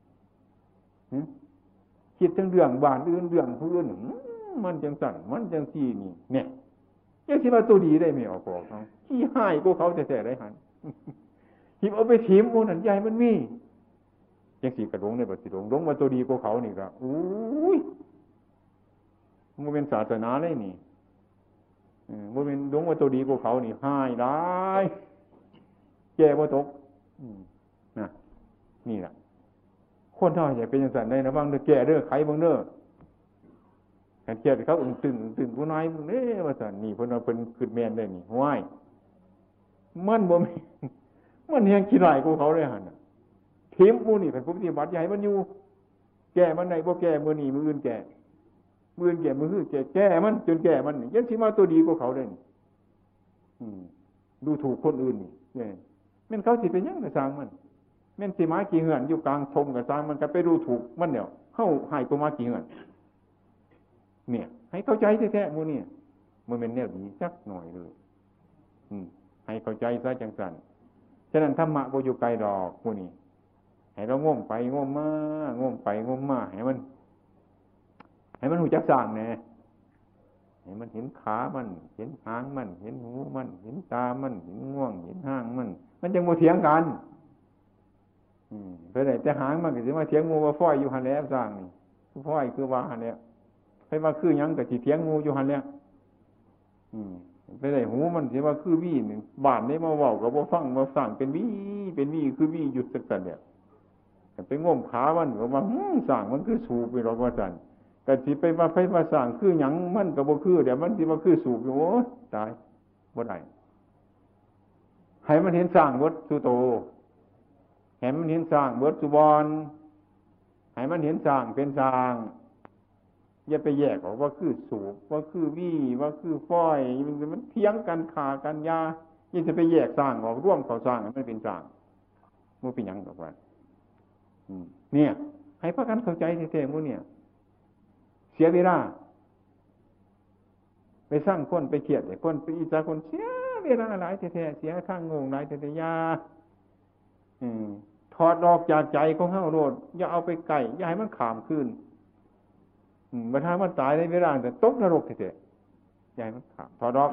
คิดถึงเรื่องบ้านอื่นเรื่องผู้อื่นมันจังสั่นมันจังซี่นี่เนี่ยยังสิว่าตัวดีได้ไม่ออกบอกเขาขี้หายกูเขาแต่ได้หันหิบเอาไปถิ่มโอ้นั่นใหญ่มันมียังสีกระดงในบัดสิดงว่าตัวดีกูเขานี่ก็อุ้ยมันเป็นศาสนาเลยนี่มันเป็นดงว่าตัวดีกูเขานี่หายได้แก่บ่ตกนะนี่แหละคนเท่าอย่าเป็นอย่างสั่นได้นะบ้างเด้อแก่เด้อไขบ้างเด้อการแก่เขาตึงผู้น้อยมึงเด้ว่าสั่นนี่เพิ่นว่าเพิ่นขึ้นแม่นได้นี่ห้วยมันบ่มีมันยังขี้ร้ายกูเขาเลยหั่นน่ะทิมผู้นี่เป็นผู้ปฏิบัติใหญ่มันอยู่แก่มันได้บ่แก่มื้อนี้มื้ออื่นแก่มื้ออื่นแก่มื้อคือแก่มันจนแก่มันยังสิมาตัวดีกว่าเขาได้นี่ดูถูกคนอื่นนี่แม่นเขาสิเป็นหยังก็สร้างมันแม่นสิมากี่เหือนอยู่กลางทงก็สร้างมันก็ไปดูถูกมันเดี๋ยวเฮาให้กูมากี่เหือนเนี่ยให้เข้าใจแท้ๆมื้อนี้มันเป็นแนวดีจักหน่อยเลยให้เข้าใจซะจังซั่นฉะนั้นธรรมะบ่อยู่ไกลดอกมื้อนี้ให้เราง่มไปง่มมาง่มไปง่มมาให้มันหูจักสร้างแน่ให้มันเห็นขามันเห็นหางมันเห็นหูมันเห็นตามันเห็นง่วงเห็นห้างมันจังบ่เถียงกันเพิ่นได้แต่หางมันก็สิมาเถียงงูว่าฟ้อยอยู่หั่นแหละสร้างนี่ฟ้อยคือว่าหั่นแหละเพิ่นว่าคือหยังก็สิเถียงงูอยู่หั่นแหละไปได้หูมันสิว่าคือวี่นี่บ้านนี้มาเว้าก็บ่ฟังมาสร้างเป็นวี่คือวี่อยู่จังซั่นเนี่ยไปง่มขามันก็ว่าสร้างมันคือสูบไปหรอกว่าซั่นก็สิไปว่าไปว่าสร้างคือหยังมันก็บ่คือเดี๋ยวมันสิว่าคือสูบอยู่โอ้ตายบ่ได้ให้มันเห็นสร้างเบิดสุโตให้มันเห็นสร้างเบิดสุบอนให้มันเห็นสร้างเป็นสร้างอย่าไปแยกออกว่าคือสูบว่าคือวี่ว่าคือฝ้อยมันเถียงกันขากันยายิ่งจะไปแยกสร้างออกร่วมเขาสร้างมันเป็นสร้างมันเป็นหยังดอกว่าเนี่ยให้พากันเข้าใจแท้ๆมื้อเนี่ยเสียเวลาไปสร้างคนไปเครียดไอ้คนไปอิจฉาคนเสียเวลาหลายแท้ๆเสียข้างงงหลายแท้ๆยาถอดออกจากใจของเฮาโลดอย่าเอาไปใกล้อย่าให้มันข้ามคืนบัดถ้ามันตายในเวลาแต่ตกนรกแท้ๆอย่าให้มันข้ามถอดออก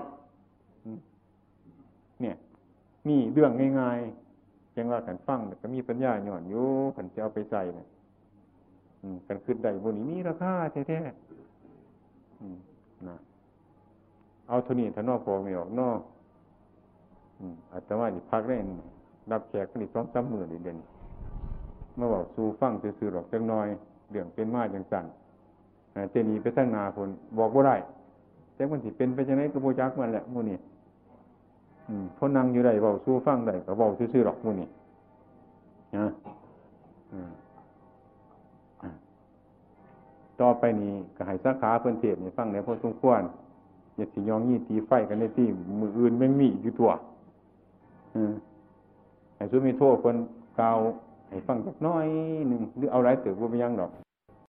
เนี่ยนี่เรื่องง่ายๆจังว่ากันฟังก็มีปัญญาหย่อนอยู่คันสิเอาไปใส่น่ะกันขึ้นได้บ่นี้มีราคาแท้ๆนะเอาเท่านี้ถ้านอกพอไม่ออกนอกอาตมาสิพักได้รับแขกนี่ 2-3 มื้อเดือนมาบอกสู่ฟังซื่อๆหรอกจังน้อยเรื่องเป็นมาจังซั่นแต่นี่ไปทางหน้าพุ่นบอกบ่ได้แต่มันสิเป็นไปจังได๋ก็บ่จักมันแหละมื้อนี้พอนั่งอยู่ได้เว้าสู่ฟังได้ก็เว้าซื่อๆหรอกมื้อนี้นะต่อไปนี้ก็ให้สาขาเพิ่นเทศน์ให้ฟังได้พอสมควรอย่าสิยองยี่ตีไฟกันในที่มื้ออื่นแม่งมีอยู่ตัวให้สุมีโทษเพิ่นกล่าวให้ฟังจักน้อยนึงหรือเอาหลายเติบบ่เป็นหยังดอก